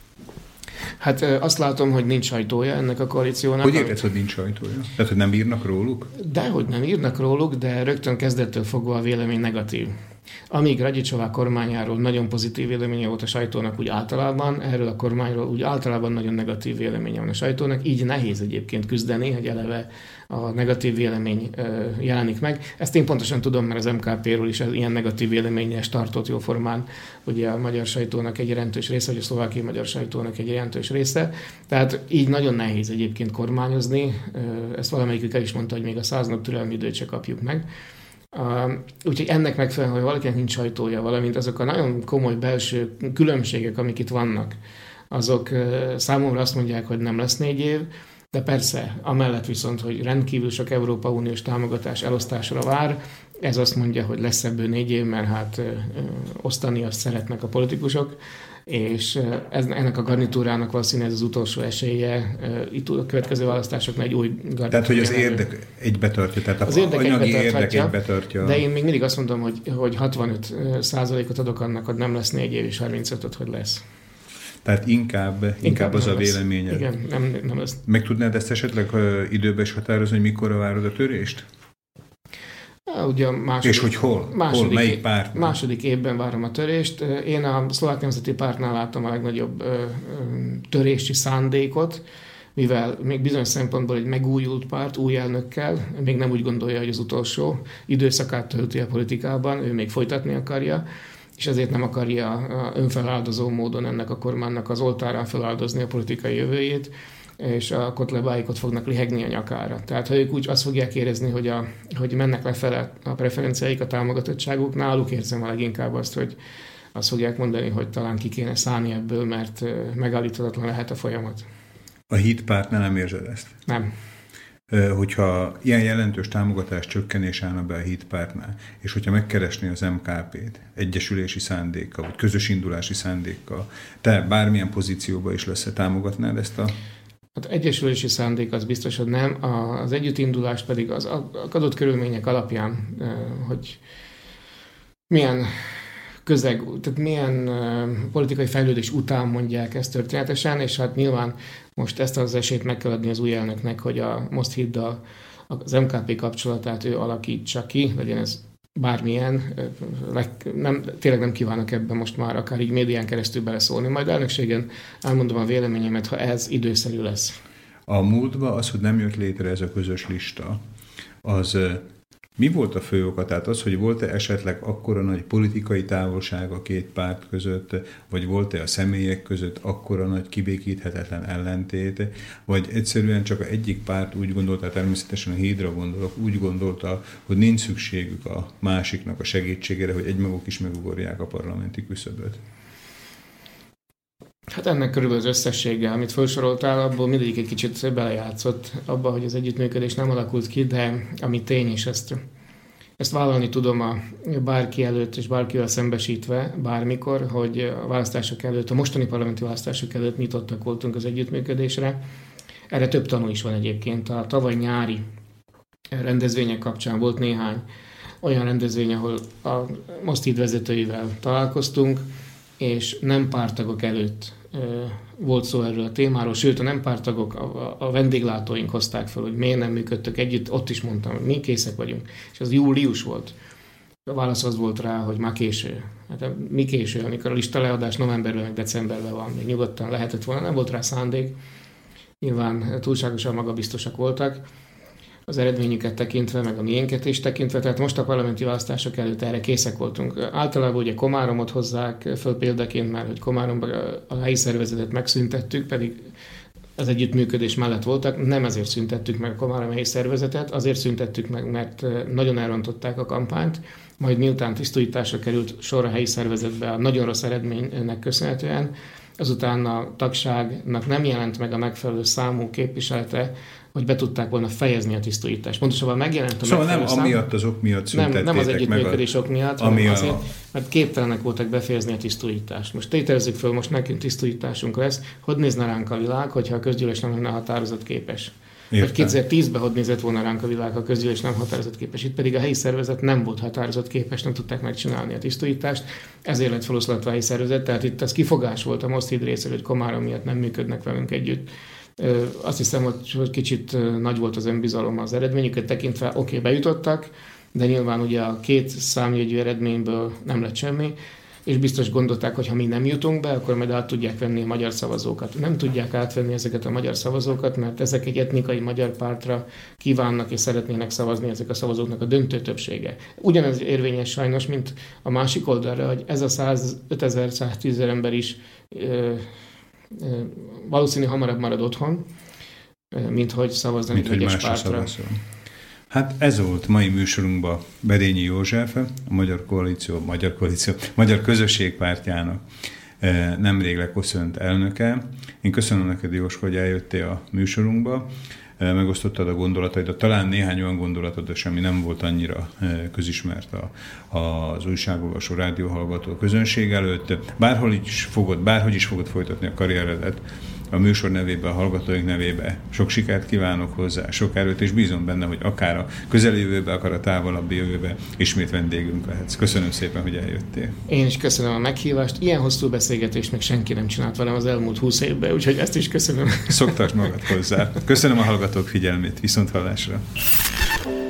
Hát azt látom, hogy nincs sajtója ennek a koalíciónak. Hogy érted, hogy nincs sajtója? Tehát, hogy nem írnak róluk? Dehogy nem írnak róluk, de rögtön kezdettől fogva a vélemény negatív. Amíg Radicsová kormányáról nagyon pozitív véleménye volt a sajtónak úgy általában, erről a kormányról úgy általában nagyon negatív véleménye van a sajtónak, így nehéz egyébként küzdeni, hogy eleve a negatív vélemény jelenik meg. Ezt én pontosan tudom, mert az em ká pé-ről is ilyen negatív véleményes tartott jóformán, ugye a magyar sajtónak egy jelentős része, vagy a szlovákiai magyar sajtónak egy jelentős része. Tehát így nagyon nehéz egyébként kormányozni. Ezt valamelyikük el is mondta, hogy még a száz nap türelmi időt se kapjuk meg. Uh, úgyhogy ennek megfelelően, hogy valakinek nincs sajtója, valamint azok a nagyon komoly belső különbségek, amik itt vannak, azok uh, számomra azt mondják, hogy nem lesz négy év, de persze, amellett viszont, hogy rendkívül sok Európai Uniós támogatás elosztásra vár, ez azt mondja, hogy lesz ebből négy év, mert hát uh, osztani azt szeretnek a politikusok, és ez, ennek a garnitúrának valószínűleg ez az utolsó esélye, itt a következő választásoknál egy új garnitúra. Tehát, hogy az érdek egybe tartja, tehát az a érdek anyagi érdek egybe tartja. De én még mindig azt mondom, hogy, hogy hatvanöt százalékot adok annak, hogy nem lesz négy év, és harmincötöt, hogy lesz. Tehát inkább, inkább, inkább az a véleményed. Igen, nem, nem lesz. Meg tudnád ezt esetleg időben is határozni, hogy mikorra várod a törést? Ugye a második, és hogy hol? Második, hol? Melyik párt? Második évben várom a törést. Én a Szlovák Nemzeti Pártnál láttam a legnagyobb ö, ö, törési szándékot, mivel még bizonyos szempontból egy megújult párt, új elnökkel, még nem úgy gondolja, hogy az utolsó időszakát tölti a politikában, ő még folytatni akarja, és ezért nem akarja önfeláldozó módon ennek a kormánynak az oltárán feláldozni a politikai jövőjét, és a kotlebáikot fognak lihegni a nyakára. Tehát ha ők úgy azt fogják érezni, hogy, a, hogy mennek lefele a preferenciáik, a támogatottságuk, náluk érzem a leginkább azt, hogy azt fogják mondani, hogy talán ki kéne szállni ebből, mert megállíthatatlan lehet a folyamat. A hitpártnál nem érzed ezt? Nem. Hogyha ilyen jelentős támogatás csökkenés állna be a hitpártnál, és hogyha megkeresné az em ká pét egyesülési szándékkal, vagy közös indulási szándékkal, te bármilyen pozícióban is lesz, támogatnád ezt a... Hát egyesülési szándék az biztos, hogy nem. Az együttindulás pedig az adott körülmények alapján, hogy milyen közeg, tehát milyen politikai fejlődés után mondják ezt történetesen, és hát nyilván most ezt az esélyt meg kell adni az új elnöknek, hogy a Mosthiddal az em ká pé kapcsolatát ő alakítsa ki, legyen ez bármilyen, nem, tényleg nem kívánok ebben most már akár így médián keresztül beleszólni. Majd elnökségen elmondom a véleményemet, ha ez időszerű lesz. A múltban az, hogy nem jött létre ez a közös lista, az mi volt a fő oka? Tehát az, hogy volt-e esetleg akkora nagy politikai távolság a két párt között, vagy volt-e a személyek között akkora nagy kibékíthetetlen ellentét, vagy egyszerűen csak egyik párt úgy gondolta, természetesen a Hídra gondolok, úgy gondolta, hogy nincs szükségük a másiknak a segítségére, hogy egymaguk is megugorják a parlamenti küszöböt? Hát ennek körülbelül az összessége, amit felsoroltál, abból mindegyik egy kicsit belejátszott abba, hogy az együttműködés nem alakult ki, de ami tény, és ezt, ezt vállalni tudom a bárki előtt és bárkivel szembesítve bármikor, hogy a választások előtt, a mostani parlamenti választások előtt nyitottak voltunk az együttműködésre. Erre több tanú is van egyébként. A tavaly nyári rendezvények kapcsán volt néhány olyan rendezvény, ahol a Most-Híd vezetőivel találkoztunk, és nem pártagok előtt volt szó erről a témáról, sőt a nem pártagok, a, a vendéglátóink hozták fel, hogy miért nem működtök együtt, ott is mondtam, hogy mi készek vagyunk. És az július volt. A válasz az volt rá, hogy már késő. Hát mi késő, amikor a lista leadás novemberben, meg decemberben van, még nyugodtan lehetett volna, nem volt rá szándék. Nyilván túlságosan magabiztosak voltak az eredményüket tekintve, meg a miénket is tekintve, tehát most a parlamenti választások előtt erre készek voltunk. Általában ugye Komáromot hozzák föl példaként, mert hogy Komáromban a helyi szervezetet megszüntettük, pedig az együttműködés mellett voltak, nem ezért szüntettük meg a Komárom helyi szervezetet, azért szüntettük meg, mert nagyon elrontották a kampányt, majd miután tisztújításra került sor a helyi szervezetbe a nagyon rossz eredménynek köszönhetően, azután a tagságnak nem jelent meg a megfelelő számú képviselete, hogy be tudták volna fejezni a tisztújítást. Pontosabban megjelent a szóval megfelelő nem szám. amiatt az ok miatt szüntettétek nem, nem az együttműködés meg ok miatt, hanem azért, a... mert képtelenek voltak befejezni a tisztújítást. Most tételezzük föl, most nekünk tisztújításunk lesz, hogy nézne ránk a világ, hogyha a közgyűlés nem lenne határozatképes. Vagy kétezer-tízben hogy nézett volna ránk a világ, ha a közgyűlés nem határozatképes. Itt pedig a helyi szervezet nem volt határozatképes, nem tudták megcsinálni a tisztújítást, ezért lett feloszlatva a helyi szervezet, tehát itt az kifogás volt a Most-Híd részéről, hogy Komárom miatt nem működnek velünk együtt. Azt hiszem, hogy kicsit nagy volt az önbizalom az eredményüket tekintve, oké, okay, bejutottak, de nyilván ugye a két számjegyű eredményből nem lett semmi, és biztos gondolták, hogy ha mi nem jutunk be, akkor majd át tudják venni a magyar szavazókat. Nem tudják átvenni ezeket a magyar szavazókat, mert ezek egy etnikai magyar pártra kívánnak és szeretnének szavazni, ezek a szavazóknak a döntő többsége. Ugyanez érvényes sajnos, mint a másik oldalra, hogy ez a százötezer-száztízezer ember is ö, ö, valószínű hamarabb marad otthon, mint hogy szavazni egy egyes pártra. Szavazol. Hát ez volt mai műsorunkban Berényi József, a Magyar Koalíció, Magyar Koalíció, Magyar Közösség Pártjának nemrég leköszönt elnöke. Én köszönöm neked, Jós, hogy eljöttél a műsorunkba, megosztottad a gondolataidat, talán néhány olyan gondolatod, ami nem volt annyira közismert a, az újságolvasó, rádióhallgató közönség előtt. Bárhol is fogod, bárhogy is fogod folytatni a karrieredet, a műsor nevében, a hallgatóink nevében sok sikert kívánok hozzá, sok erőt, és bízom benne, hogy akár a közeljövőben, akár a távolabbi jövőben ismét vendégünk lehetsz. Köszönöm szépen, hogy eljöttél. Én is köszönöm a meghívást. Ilyen hosszú beszélgetést még senki nem csinált velem az elmúlt húsz évben, úgyhogy ezt is köszönöm. Szoktasd magad hozzá. Köszönöm a hallgatók figyelmét. Viszonthallásra.